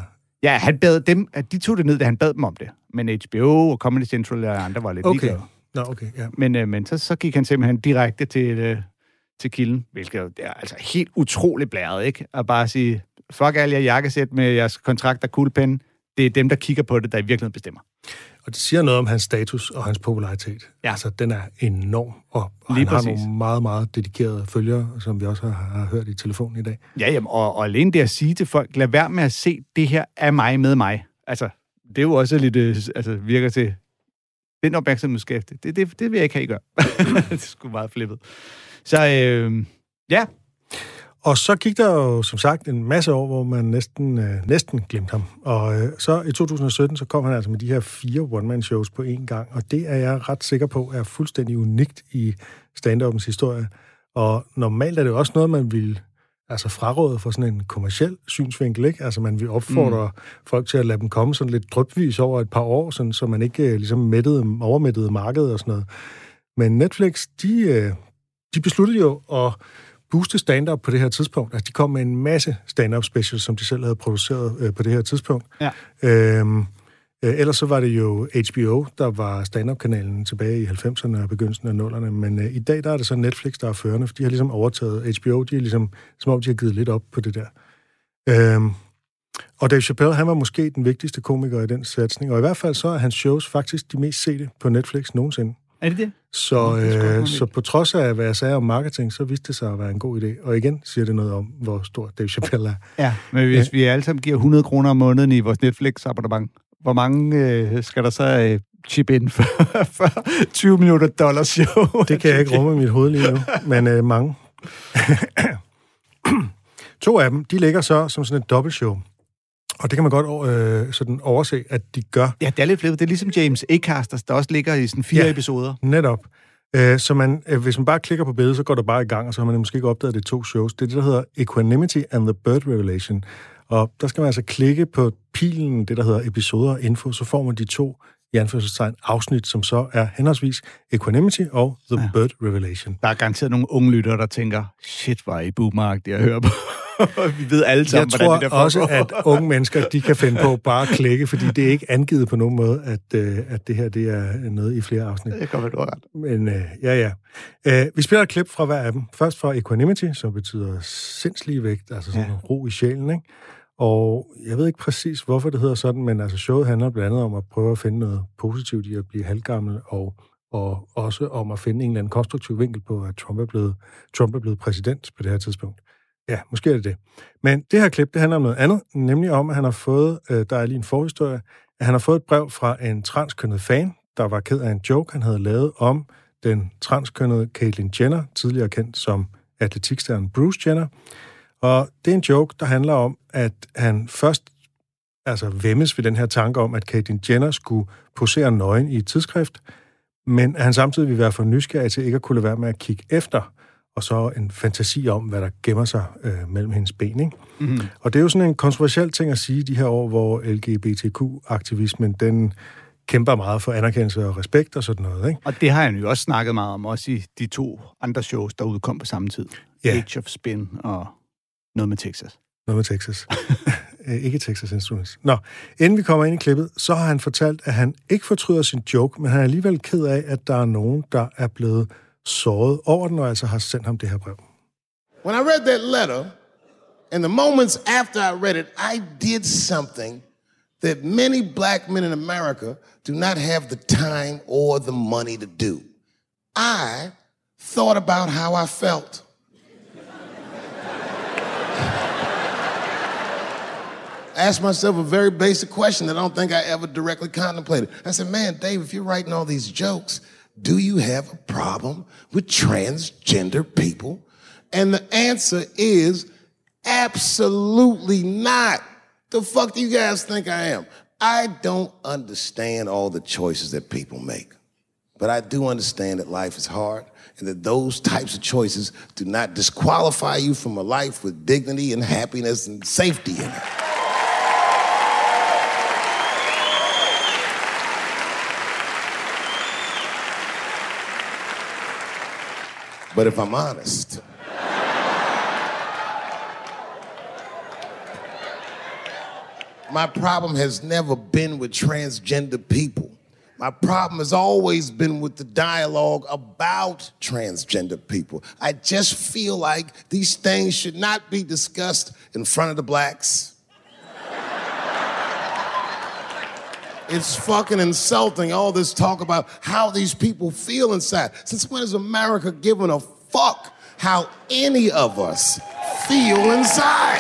Ja, han bad dem, at de tog det ned, da han bad dem om det. Men HBO og Comedy Central og andre var lidt ligeglade. Okay, ja. Men så gik han simpelthen direkte til kilden, hvilket er altså helt utroligt blæret, ikke? At bare sige, fuck alle jer jakkesæt med jeres kontrakt og kuglepen. Det er dem, der kigger på det, der i virkeligheden bestemmer. Og det siger noget om hans status og hans popularitet. Ja. Altså, den er enorm, og han har nogle meget, meget dedikerede følgere, som vi også har hørt i telefonen i dag. Ja, jamen, og alene det at sige til folk, lad være med at se, det her er mig med mig. Altså, det er jo også lidt, virker til, den opmærksomhedsskæfte. Det vil jeg ikke have, I gør. Det er sgu meget flippet. Så, ja. Og så gik der jo, som sagt, en masse år, hvor man næsten glemte ham. Og så i 2017, så kom han altså med de her 4 one-man-shows på én gang, og det er jeg ret sikker på, er fuldstændig unikt i stand-upens historie. Og normalt er det jo også noget, man vil fraråde for sådan en kommerciel synsvinkel, ikke? Altså man vil opfordre folk til at lade dem komme sådan lidt drypvis over et par år, sådan, så man ikke ligesom overmættede markedet og sådan noget. Men Netflix, de besluttede jo at booste stand-up på det her tidspunkt. Altså, de kom med en masse stand-up specials, som de selv havde produceret på det her tidspunkt. Ja. Ellers så var det jo HBO, der var stand-up-kanalen tilbage i 90'erne og begyndelsen af 0'erne, men i dag der er det så Netflix, der er førende, for de har ligesom overtaget HBO, de er ligesom, som om de har givet lidt op på det der. Og Dave Chappelle, han var måske den vigtigste komiker i den satsning, og i hvert fald så er hans shows faktisk de mest sete på Netflix nogensinde. Er det det? Så på trods af, hvad jeg sagde om marketing, så viste det sig at være en god idé. Og igen siger det noget om, hvor stor Dave Chappelle er. Ja, men hvis vi alle sammen giver 100 kroner om måneden i vores Netflix-abonnement, hvor mange skal der så chip ind for 20 millioner dollars show? Det kan jeg ikke rumme i mit hoved lige nu, men mange. 2 af dem, de ligger så som sådan et dobbeltshow. Og det kan man godt sådan overse, at de gør. Ja, det er lidt flippet. Det er ligesom James Acasters, der også ligger i sådan 4 episoder. Netop. Så hvis man bare klikker på billedet, så går det bare i gang, og så har man måske ikke opdaget, det 2 shows. Det er det, der hedder Equanimity and the Bird Revelation. Og der skal man altså klikke på pilen, det der hedder episoder og info, så får man de 2 i anførselstegn afsnit, som så er henholdsvis Equanimity og The Bird Revelation. Der er garanteret nogle unge lyttere, der tænker, shit, hvor er I boomeragtigt at høre på. Vi ved alle sammen, hvordan det der foregår. Jeg tror også, at unge mennesker, de kan finde på bare at klikke, fordi det er ikke angivet på nogen måde, at det her det er noget i flere afsnit. Det kommer du ret. Men ja. Vi spiller et klip fra hver af dem. Først fra Equanimity, som betyder sindsligevægt, altså sådan ro i sjælen, ikke? Og jeg ved ikke præcis, hvorfor det hedder sådan, men altså showet handler blandt andet om at prøve at finde noget positivt i at blive halvgammel, og også om at finde en eller anden konstruktiv vinkel på, at Trump er blevet præsident på det her tidspunkt. Ja, måske er det det. Men det her klip, det handler om noget andet, nemlig om, at han har fået, der er lige en forhistorie, at han har fået et brev fra en transkønnet fan, der var ked af en joke, han havde lavet om den transkønnede Caitlyn Jenner, tidligere kendt som atletikstjernen Bruce Jenner. Og det er en joke, der handler om, at han først væmmes ved den her tanke om, at Caitlyn Jenner skulle posere nøgen i et tidsskrift, men at han samtidig vil være for nysgerrig til ikke at kunne lade være med at kigge efter, og så en fantasi om, hvad der gemmer sig mellem hendes ben, ikke? Mm-hmm. Og det er jo sådan en kontroversiel ting at sige de her år, hvor LGBTQ-aktivismen, den kæmper meget for anerkendelse og respekt og sådan noget, ikke? Og det har han jo også snakket meget om, også i de 2 andre shows, der udkom på samme tid. Yeah. Age of Spin og noget med Texas. Noget med Texas. Ikke Texas Instruments. Nå, inden vi kommer ind i klippet, så har han fortalt, at han ikke fortryder sin joke, men han er alligevel ked af, at der er nogen, der er blevet såret over den, og altså har sendt ham det her brev. When I read that letter, and the moments after I read it, I did something that many black men in America do not have the time or the money to do. I thought about how I felt. I asked myself a very basic question that I don't think I ever directly contemplated. I said, man, Dave, if you're writing all these jokes, do you have a problem with transgender people? And the answer is absolutely not. The fuck do you guys think I am? I don't understand all the choices that people make. But I do understand that life is hard and that those types of choices do not disqualify you from a life with dignity and happiness and safety in it. But if I'm honest, My problem has never been with transgender people. My problem has always been with the dialogue about transgender people. I just feel like these things should not be discussed in front of the blacks. It's fucking insulting, all this talk about how these people feel inside. Since when has America given a fuck how any of us feel inside?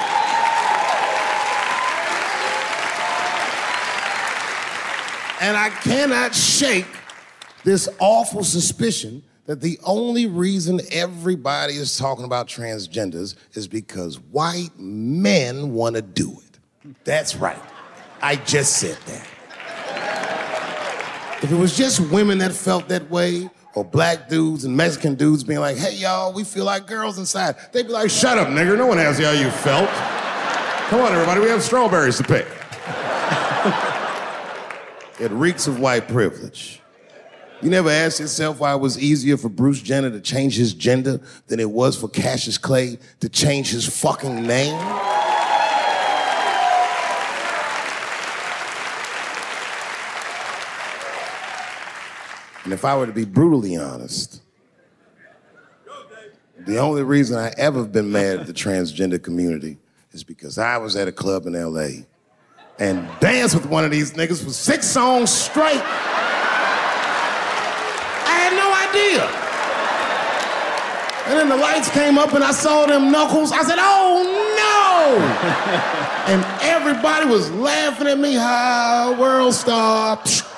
And I cannot shake this awful suspicion that the only reason everybody is talking about transgenders is because white men want to do it. That's right. I just said that. If it was just women that felt that way, or black dudes and Mexican dudes being like, hey, y'all, we feel like girls inside, they'd be like, shut up, nigger, no one asked you how you felt. Come on, everybody, we have strawberries to pick. It reeks of white privilege. You never asked yourself why it was easier for Bruce Jenner to change his gender than it was for Cassius Clay to change his fucking name? And if I were to be brutally honest, the only reason I ever been mad at the transgender community is because I was at a club in LA and danced with one of these niggas for 6 songs straight. I had no idea. And then the lights came up and I saw them knuckles. I said, oh no! And everybody was laughing at me, hi, world star.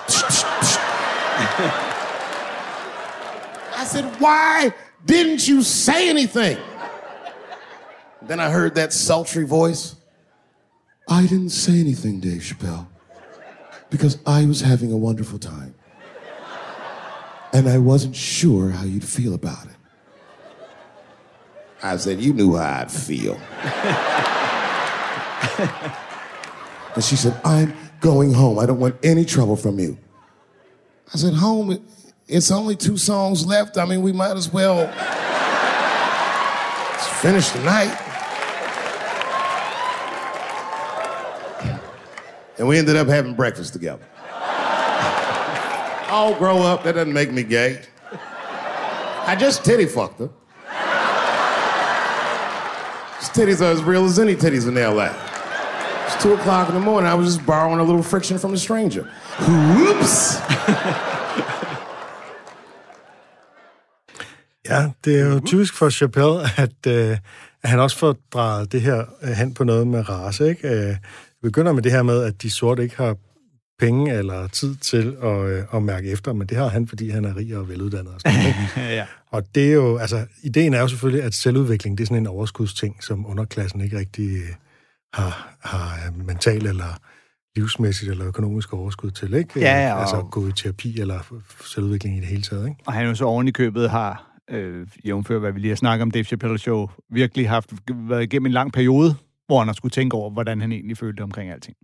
I said, why didn't you say anything? Then I heard that sultry voice. I didn't say anything, Dave Chappelle, because I was having a wonderful time. And I wasn't sure how you'd feel about it. I said, you knew how I'd feel. And she said, I'm going home. I don't want any trouble from you. I said, home, it's only 2 songs left. I mean, we might as well finish the night. And we ended up having breakfast together. I'll grow up, that doesn't make me gay. I just titty fucked her. His titties are as real as any titties in LA. It's 2 o'clock in the morning, I was just borrowing a little friction from a stranger. Whoops! Ja, det er jo typisk for Chappelle, at han også får drejet det her hen på noget med race, ikke? Det begynder med det her med, at de sorte ikke har penge eller tid til at mærke efter, men det har han, fordi han er rig og veluddannet. Og sådan, ikke? Ja. Og det er jo, altså, ideen er jo selvfølgelig, at selvudvikling, det er sådan en overskudsting, som underklassen ikke rigtig har mental eller livsmæssigt eller økonomisk overskud til, ikke? Ja, altså gå i terapi eller selvudvikling i det hele taget, ikke? Og han jo så oven i købet har, jævnfør hvad vi lige har snakket om, Dave Chappelle Show, virkelig været igennem en lang periode, hvor han har skulle tænke over, hvordan han egentlig følte omkring alting.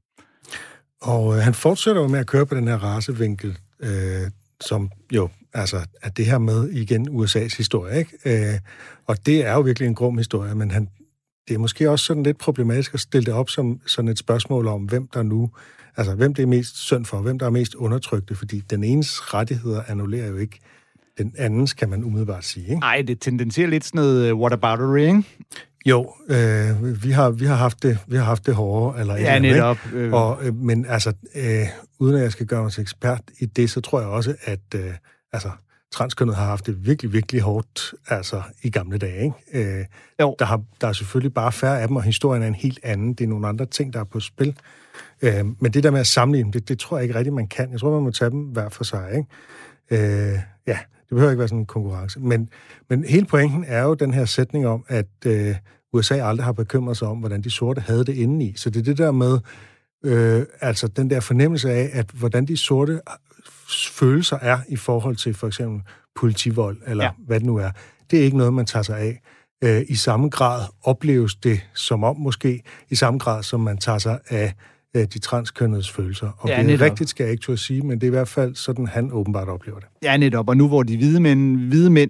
Og han fortsætter jo med at køre på den her racevinkel, som jo, altså, at det her med igen USA's historie, ikke? Og det er jo virkelig en grum historie, men det er måske også sådan lidt problematisk at stille det op som sådan et spørgsmål om, hvem det er mest synd for, hvem der er mest undertrykte, fordi den enes rettigheder annullerer jo ikke den andens, kan man umiddelbart sige, ikke? Nej, det tendenserer lidt sådan noget whataboutery, ikke? Jo, vi har haft det hårdere, eller ja, netop. Men altså, uden at jeg skal gøre mig til ekspert i det, så tror jeg også, at transkønnet har haft det virkelig, virkelig hårdt, altså i gamle dage, ikke? Der er selvfølgelig bare færre af dem, og historien er en helt anden. Det er nogle andre ting, der er på spil. Men det der med at sammenligne, det tror jeg ikke rigtigt, man kan. Jeg tror, man må tage dem hver for sig, ikke? Det behøver ikke være sådan en konkurrence. Men hele pointen er jo den her sætning om, at USA aldrig har bekymret sig om, hvordan de sorte havde det indeni. Så det er det der med, altså den der fornemmelse af, at hvordan de sorte følelser er i forhold til for eksempel politivold, eller hvad det nu er. Det er ikke noget, man tager sig af. I samme grad opleves det som om måske, i samme grad som man tager sig af de transkønnedes følelser. Og det er rigtigt, skal jeg ikke turde sige, men det er i hvert fald sådan, han åbenbart oplever det. Ja, netop. Og nu hvor de hvide mænd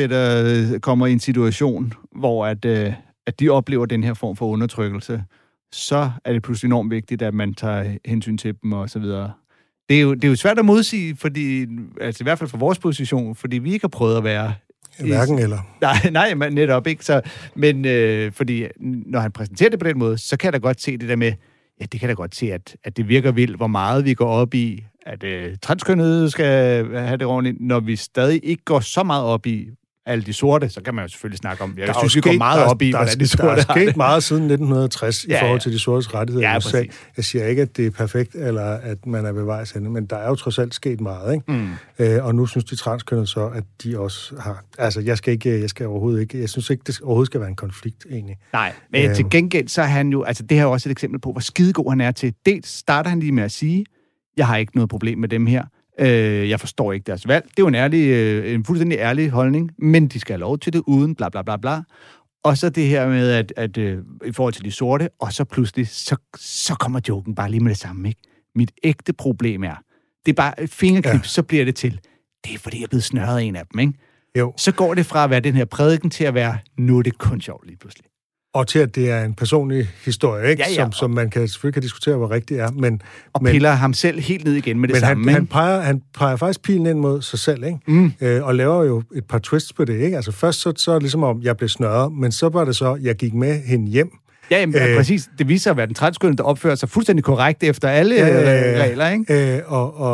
pludselig kommer i en situation, hvor at de oplever den her form for undertrykkelse, så er det pludselig enormt vigtigt, at man tager hensyn til dem og så videre. Det er jo svært at modsige, fordi, altså i hvert fald fra vores position, fordi vi ikke har prøvet at være... Hverken eller. Nej, men netop ikke. Så, men fordi når han præsenterer det på den måde, så kan jeg da godt se det der med, ja, det kan da godt se, at det virker vildt, hvor meget vi går op i, at transkønnede skal have det ordentligt, når vi stadig ikke går så meget op i alle de sorte, så kan man jo selvfølgelig snakke om, jeg synes, vi går meget op i, hvordan de sorte har det. Der er sket meget siden 1960 i forhold til de sortes rettigheder i USA. Jeg siger ikke, at det er perfekt, eller at man er ved vejs ende, men der er jo trods alt sket meget, ikke? Og nu synes de transkønnede så, at de også har... Altså, jeg skal overhovedet ikke... Jeg synes ikke, det overhovedet skal være en konflikt, egentlig. Nej, men til gengæld, så er han jo... Altså, det her er også et eksempel på, hvor skidegod han er til. Dels starter han lige med at sige, jeg har ikke noget problem med dem her. Jeg forstår ikke deres valg. Det er jo en fuldstændig ærlig holdning, men de skal have lov til det uden bla bla bla bla. Og så det her med, at i forhold til de sorte, og så pludselig, så kommer joken bare lige med det samme, ikke? Mit ægte problem er, det er bare et fingerklip, så bliver det til. Det er fordi, jeg er blevet snørret af en af dem, ikke? Jo. Så går det fra at være den her prædiken til at være, nu er det kun sjovt lige pludselig. Og til, at det er en personlig historie, ikke? Ja. Som man selvfølgelig kan diskutere, hvor rigtigt er. Men piller ham selv helt ned igen med det samme. Han peger faktisk pilen ind mod sig selv, ikke? Og laver jo et par twists på det, ikke? Altså først så er det ligesom om, jeg blev snørret, men så var det så, jeg gik med hende hjem. Ja, jamen, præcis. Det viser at være den transkønnede, der opfører sig fuldstændig korrekt efter alle regler, ikke?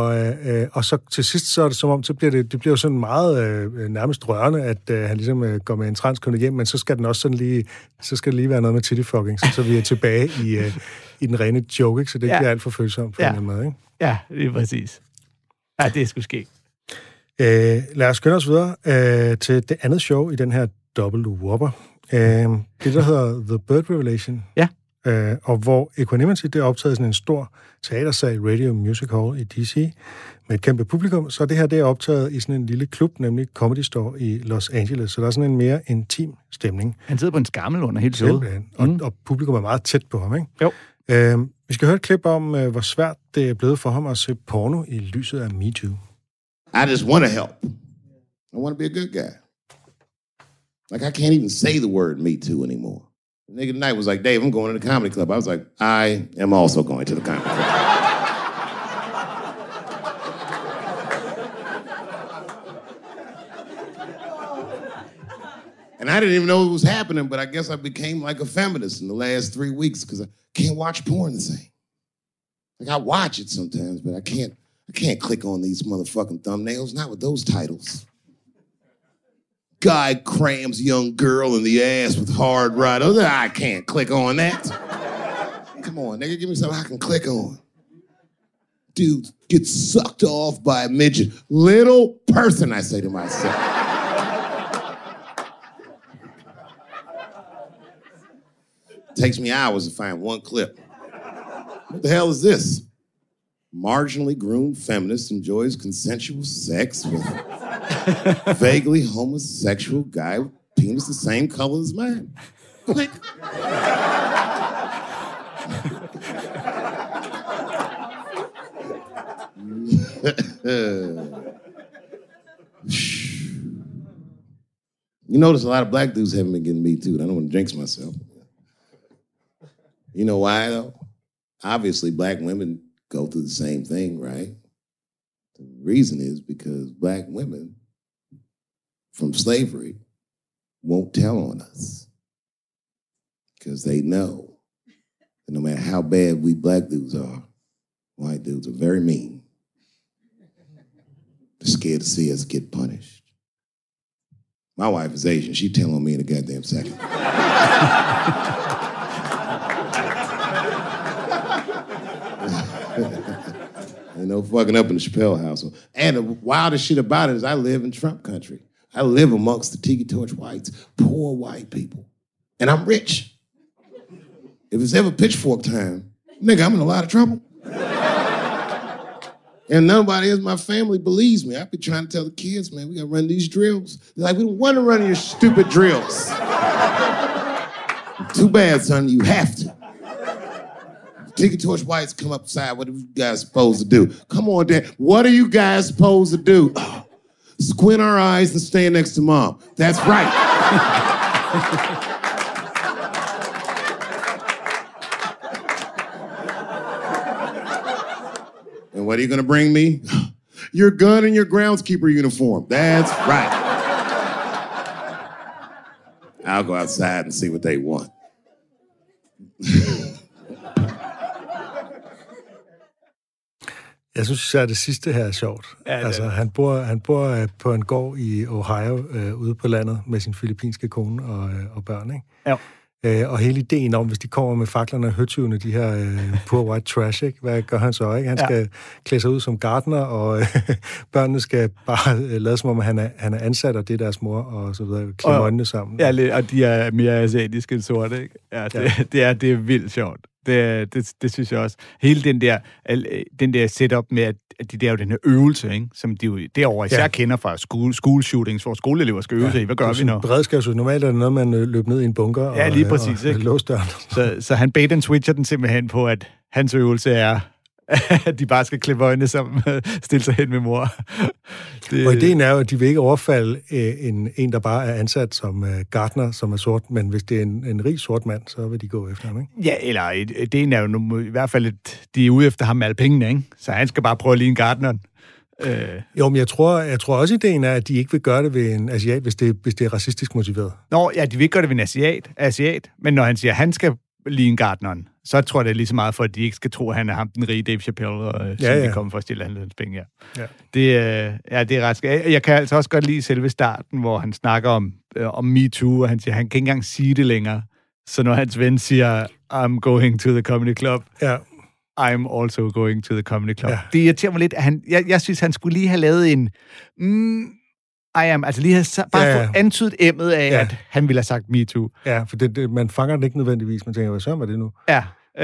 Og så til sidst, så er det som om, så bliver det bliver jo sådan meget nærmest rørende, at han ligesom går med en transkønnet hjem, men så skal den også sådan lige, så skal det lige være noget med tittyfucking, så vi er tilbage i den rene joke, ikke? Så det bliver alt for følsomt på en eller anden måde, ikke? Ja, det er præcis. Ja, det skulle ske. Lad os skynde os videre til det andet show i den her Double Whopper. Det, der hedder The Bird Revelation. Ja. Og hvor Equanimity, det er optaget i sådan en stor teatersal, Radio Music Hall i DC, med et kæmpe publikum. Så det her, det er optaget i sådan en lille klub, nemlig Comedy Store i Los Angeles. Så der er sådan en mere intim stemning. Han sidder på en skammel under helt showet. Og publikum er meget tæt på ham, ikke? Jo. Vi skal høre et klip om, hvor svært det er blevet for ham at se porno i lyset af MeToo. I just want to help. I want to be a good guy. Like, I can't even say the word Me Too anymore. The nigga tonight was like, Dave, I'm going to the comedy club. I was like, I am also going to the comedy club. And I didn't even know it was happening, but I guess I became like a feminist in the last 3 weeks because I can't watch porn the same. Like, I watch it sometimes, but I can't click on these motherfucking thumbnails, not with those titles. Guy crams young girl in the ass with hard right. I can't click on that. Come on, nigga, give me something I can click on. Dude gets sucked off by a midget. Little person, I say to myself. Takes me hours to find one clip. What the hell is this? Marginally groomed feminist enjoys consensual sex with vaguely homosexual guy with penis the same color as mine. Click. You notice a lot of black dudes haven't been getting Me Too. I don't want to jinx myself. You know why, though? Obviously, black women go through the same thing, right? The reason is because black women from slavery won't tell on us because they know that no matter how bad we black dudes are, white dudes are very mean. They're scared to see us get punished. My wife is Asian. She'd tell on me in a goddamn second. Ain't no fucking up in the Chappelle household. And the wildest shit about it is I live in Trump country. I live amongst the Tiki Torch whites, poor white people. And I'm rich. If it's ever pitchfork time, nigga, I'm in a lot of trouble. And nobody in my family believes me. I be trying to tell the kids, man, we gotta run these drills. They're like, we don't want to run your stupid drills. Too bad, son, you have to. Tiki Torch whites come upside, what are you guys supposed to do? Come on, Dad, what are you guys supposed to do? Squint our eyes and stand next to Mom. That's right. And what are you going to bring me? Your gun and your groundskeeper uniform. That's right. I'll go outside and see what they want. Jeg synes især, det sidste her er sjovt. Ja, altså, han bor på en gård i Ohio, ude på landet, med sin filippinske kone og børn, ikke? Ja. Og hele ideen om, hvis de kommer med faklerne og høtyvene, de her poor white trash, ikke? Hvad gør han så, ikke? Han skal klæde sig ud som gartner, og børnene skal bare lade som om, at han er ansat, og det er deres mor, og så videre, klemme øjnene sammen. Ja, og de er mere asiatiske end sorte, ikke? Ja, det er vildt sjovt. Det synes jeg også. Hele den der setup med, at de der jo den her øvelse, ikke? Som de jo derovre især kender fra school shootings, hvor skoleelever skal øve sig i. Hvad gør vi nu? Beredskabsøvelse. Normalt er det noget, man løber ned i en bunker og lige præcis, og låser døren. Så han bait and switcher den simpelthen på, at hans øvelse er, at de bare skal klippe øjnene sammen, stille sig hen med mor. Og ideen er jo, at de vil ikke overfalde en, der bare er ansat som gartner, som er sort, men hvis det er en rig sort mand, så vil de gå efter ham, ikke? Ja, eller ideen er jo i hvert fald, at de er ude efter ham med alle pengene, ikke? Så han skal bare prøve at ligne gartneren. Jo, men jeg tror også, ideen er, at de ikke vil gøre det ved en asiat, hvis det er racistisk motiveret. Nå, ja, de vil ikke gøre det ved en asiat, men når han siger, at han skal ligne gartneren, så tror jeg, det er lige så meget for, at de ikke skal tro, at han er ham, den rige Dave Chappelle, som de kommer for at stille hans penge. Ja. Det er ret skægt. Jeg kan altså også godt lide selve starten, hvor han snakker om MeToo, og han siger, han kan ikke engang sige det længere. Så når hans ven siger, I'm going to the comedy club, I'm also going to the comedy club. Ja. Det irriterer mig lidt, at jeg synes, han skulle lige have lavet en... altså lige have bare få antydet emmet af, at han ville have sagt MeToo. Ja, for man fanger den ikke nødvendigvis. Man tænker, hvad så er det nu? Ja,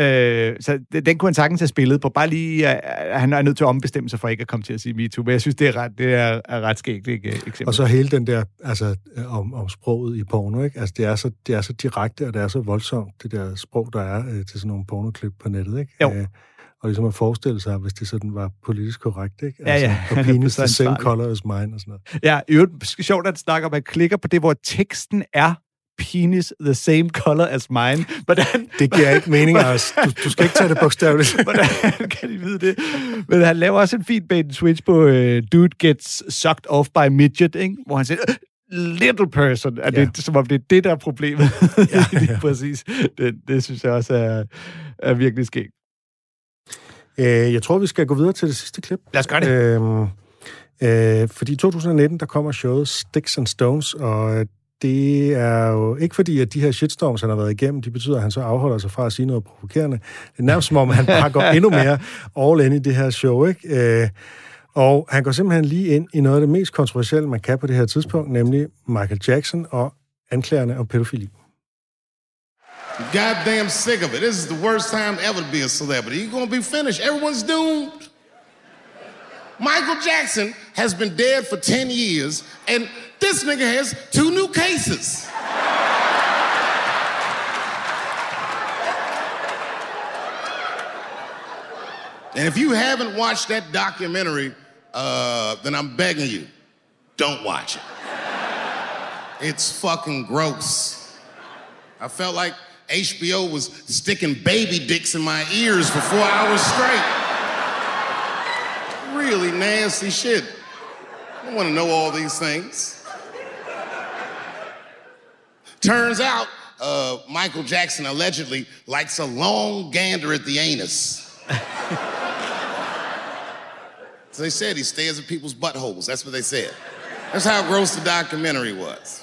så den kunne han sagtens have spillet på. Bare lige, han er nødt til at ombestemme sig for ikke at komme til at sige MeToo. Men jeg synes, det er ret skægt, ikke? Eksempel. Og så hele den der, altså om sproget i porno, ikke? Altså det er så direkte, og det er så voldsomt, det der sprog, der er til sådan nogle pornoklip på nettet, ikke? Jo. Og ligesom at forestille sig, hvis det sådan var politisk korrekt, ikke? Altså, ja. Og penis the same color as mine og sådan noget. Ja, i øvrigt sjovt at snakke om, at man klikker på det, hvor teksten er penis the same color as mine. Hvordan? Det giver ikke mening, altså. Du skal ikke tage det bogstaveligt. Hvordan kan de vide det? Men han laver også en fin bait and switch på Dude Gets Sucked Off by Midget, ikke? Hvor han siger, little person. Det, som om det er det, der er problemet. Ja. Præcis. Det synes jeg også er virkelig skægt. Jeg tror, vi skal gå videre til det sidste klip. Lad os gøre det. Fordi i 2019, der kommer showet Sticks and Stones, og det er jo ikke fordi, at de her shitstorms, han har været igennem, de betyder, at han så afholder sig fra at sige noget provokerende. Det er nærmest som om, han bare går endnu mere all in i det her show, ikke? Og han går simpelthen lige ind i noget af det mest kontroversielle, man kan på det her tidspunkt, nemlig Michael Jackson og anklagerne om pædofili. Goddamn sick of it. This is the worst time ever to be a celebrity. You're gonna be finished. Everyone's doomed. Michael Jackson has been dead for 10 years, and this nigga has 2 new cases. And if you haven't watched that documentary, then I'm begging you, don't watch it. It's fucking gross. I felt like HBO was sticking baby dicks in my ears for 4 hours straight. Really nasty shit. I don't want to know all these things. Turns out, Michael Jackson allegedly likes a long gander at the anus. So they said he stares at people's buttholes. That's what they said. That's how gross the documentary was.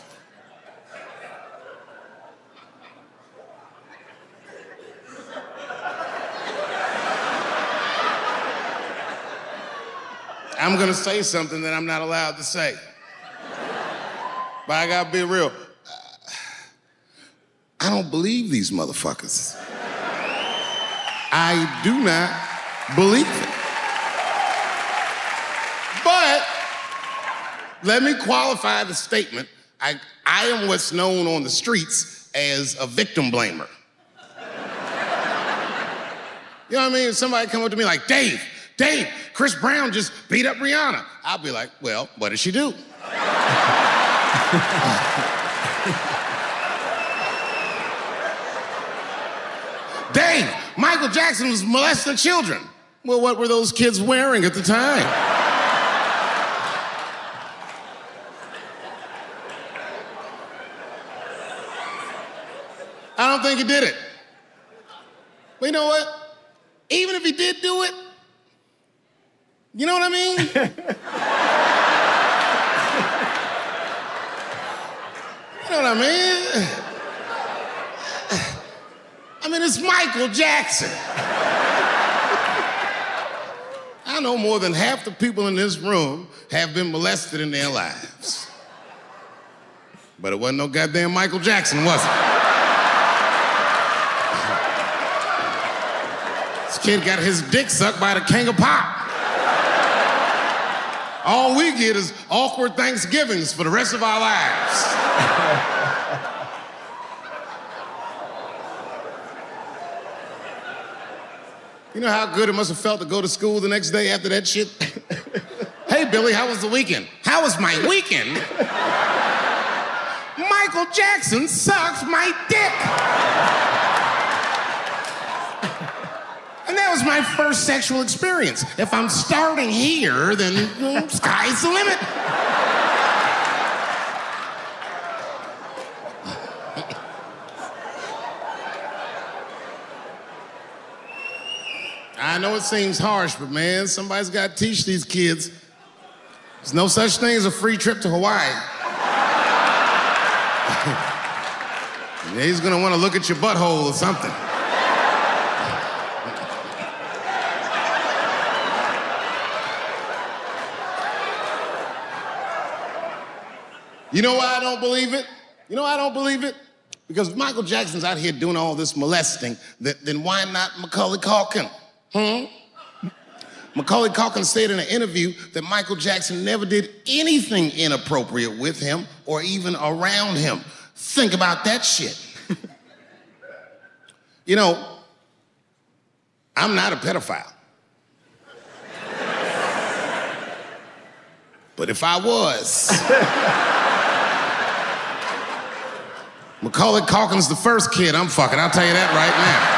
I'm gonna say something that I'm not allowed to say. But I gotta be real. I don't believe these motherfuckers. I do not believe it. But let me qualify the statement. I am what's known on the streets as a victim blamer. You know what I mean? If somebody come up to me like, Dave, Chris Brown just beat up Rihanna. I'll be like, well, what did she do? Dave, Michael Jackson was molesting children. Well, what were those kids wearing at the time? I don't think he did it. But you know what? Even if he did do it, you know what I mean? You know what I mean? I mean, it's Michael Jackson. I know more than half the people in this room have been molested in their lives. But it wasn't no goddamn Michael Jackson, was it? This kid got his dick sucked by the king of pop. All we get is awkward Thanksgivings for the rest of our lives. You know how good it must have felt to go to school the next day after that shit? Hey, Billy, how was the weekend? How was my weekend? Michael Jackson sucks my dick. And that was my first sexual experience. If I'm starting here, then sky's the limit. I know it seems harsh, but man, somebody's got to teach these kids. There's no such thing as a free trip to Hawaii. He's gonna want to look at your butthole or something. You know why I don't believe it? You know why I don't believe it? Because if Michael Jackson's out here doing all this molesting, then why not Macaulay Culkin? Macaulay Culkin said in an interview that Michael Jackson never did anything inappropriate with him or even around him. Think about that shit. You know, I'm not a pedophile. But if I was, Macaulay Culkin's the first kid I'm fucking, I'll tell you that right now.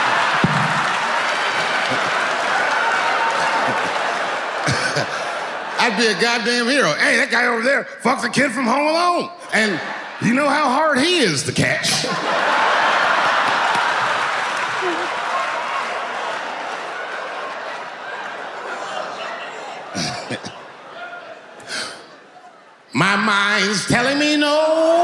I'd be a goddamn hero. Hey, that guy over there fucks a kid from Home Alone. And you know how hard he is to catch. My mind's telling me no.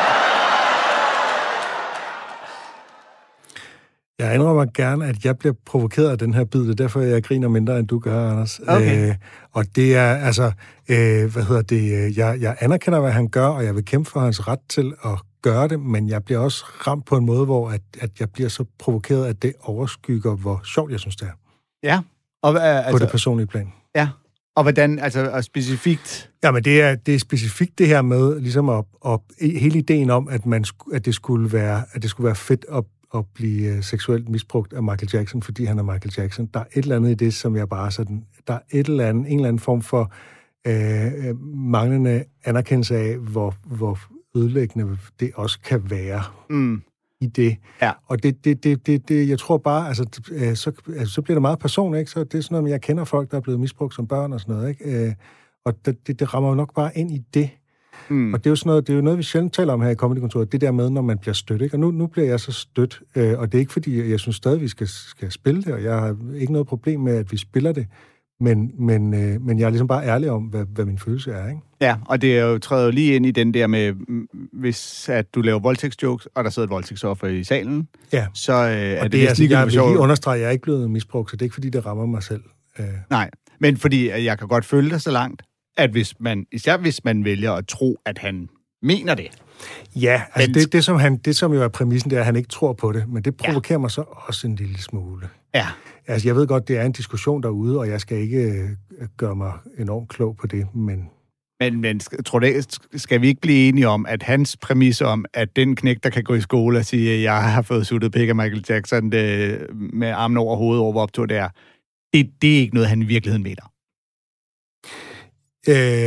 Jeg indrømmer gerne, at jeg bliver provokeret af den her bid, det er derfor, jeg griner mindre, end du gør, Anders. Okay. Og det er, altså, jeg anerkender, hvad han gør, og jeg vil kæmpe for hans ret til at gøre det, men jeg bliver også ramt på en måde, hvor at jeg bliver så provokeret, at det overskygger, hvor sjovt jeg synes, det er. Ja. Og, altså, på det personlige plan. Ja. Og hvordan, altså og specifikt? Jamen, det er specifikt det her med, ligesom at hele ideen om, at det skulle være fedt at blive seksuelt misbrugt af Michael Jackson, fordi han er Michael Jackson. Der er et eller andet i det, som jeg bare sådan... Der er en eller anden form for manglende anerkendelse af, hvor ødelæggende det også kan være i det. Ja. Og det jeg tror bare, så bliver det meget personligt, ikke? Så det er sådan noget, jeg kender folk, der er blevet misbrugt som børn og sådan noget, ikke? Og det rammer jo nok bare ind i det. Og det er jo sådan noget, det er jo noget, vi sjældent taler om her i Comedy-kontoret, det der med, når man bliver stødt, ikke? Og nu bliver jeg så stødt, og det er ikke fordi, jeg synes stadig, vi skal spille det, og jeg har ikke noget problem med, at vi spiller det, men jeg er ligesom bare ærlig om, hvad min følelse er, ikke? Ja, og det er jo træder lige ind i den der med, hvis at du laver voldtægtsjokes, og der sidder et voldtægtsoffer i salen, ja. Så er det altså, jeg vil lige understrege, at jeg er ikke blevet misbrugt, så det er ikke fordi, det rammer mig selv. Nej, men fordi jeg kan godt følge dig så langt, at især hvis man vælger at tro, at han mener det. Ja, altså det som jo er præmissen, det er, at han ikke tror på det, men det provokerer mig så også en lille smule. Ja. Altså, jeg ved godt, det er en diskussion derude, og jeg skal ikke gøre mig enormt klog på det, men... Men tror du, skal vi ikke blive enige om, at hans præmis om, at den knæk, der kan gå i skole og sige, at jeg har fået suttet pik af Michael Jackson med armen over hovedet over optur, det er ikke noget, han i virkeligheden mener?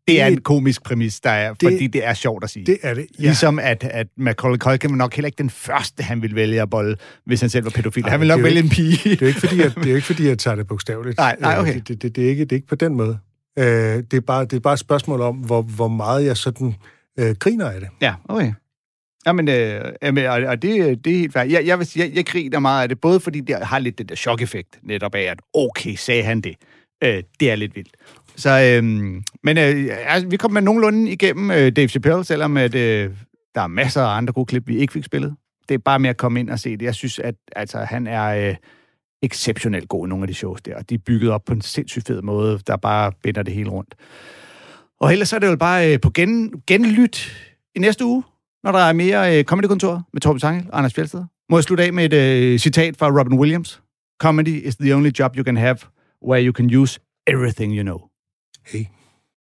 Det er en komisk præmis, der er, fordi det er sjovt at sige. Det er det, ja. Ligesom at Macaulay Culkin var nok heller ikke den første, han ville vælge at bolle, hvis han selv var pædofil. Han ville nok vælge en pige. Det er jo ikke fordi, jeg tager det bogstaveligt. Nej, okay. Det er ikke på den måde. Det er bare et spørgsmål om, hvor meget jeg sådan griner af det. Ja, okay. Jamen, og det er helt færdigt. Jeg griner meget af det, både fordi det har lidt det der chok-effekt, netop af, at okay, sagde han det. Det er lidt vildt. Så, vi kom med nogenlunde igennem Dave Chappelle, selvom at, der er masser af andre gode klip, vi ikke fik spillet. Det er bare med at komme ind og se det. Jeg synes, at han er exceptionelt god i nogle af de shows der. De er bygget op på en sindssygt fed måde, der bare binder det hele rundt. Og ellers så er det jo bare på genlyt i næste uge, når der er mere Comedy-kontor med Torben Sangel og Anders Fjeldsted. Må jeg slutte af med et citat fra Robin Williams. Comedy is the only job you can have where you can use everything you know. Hey.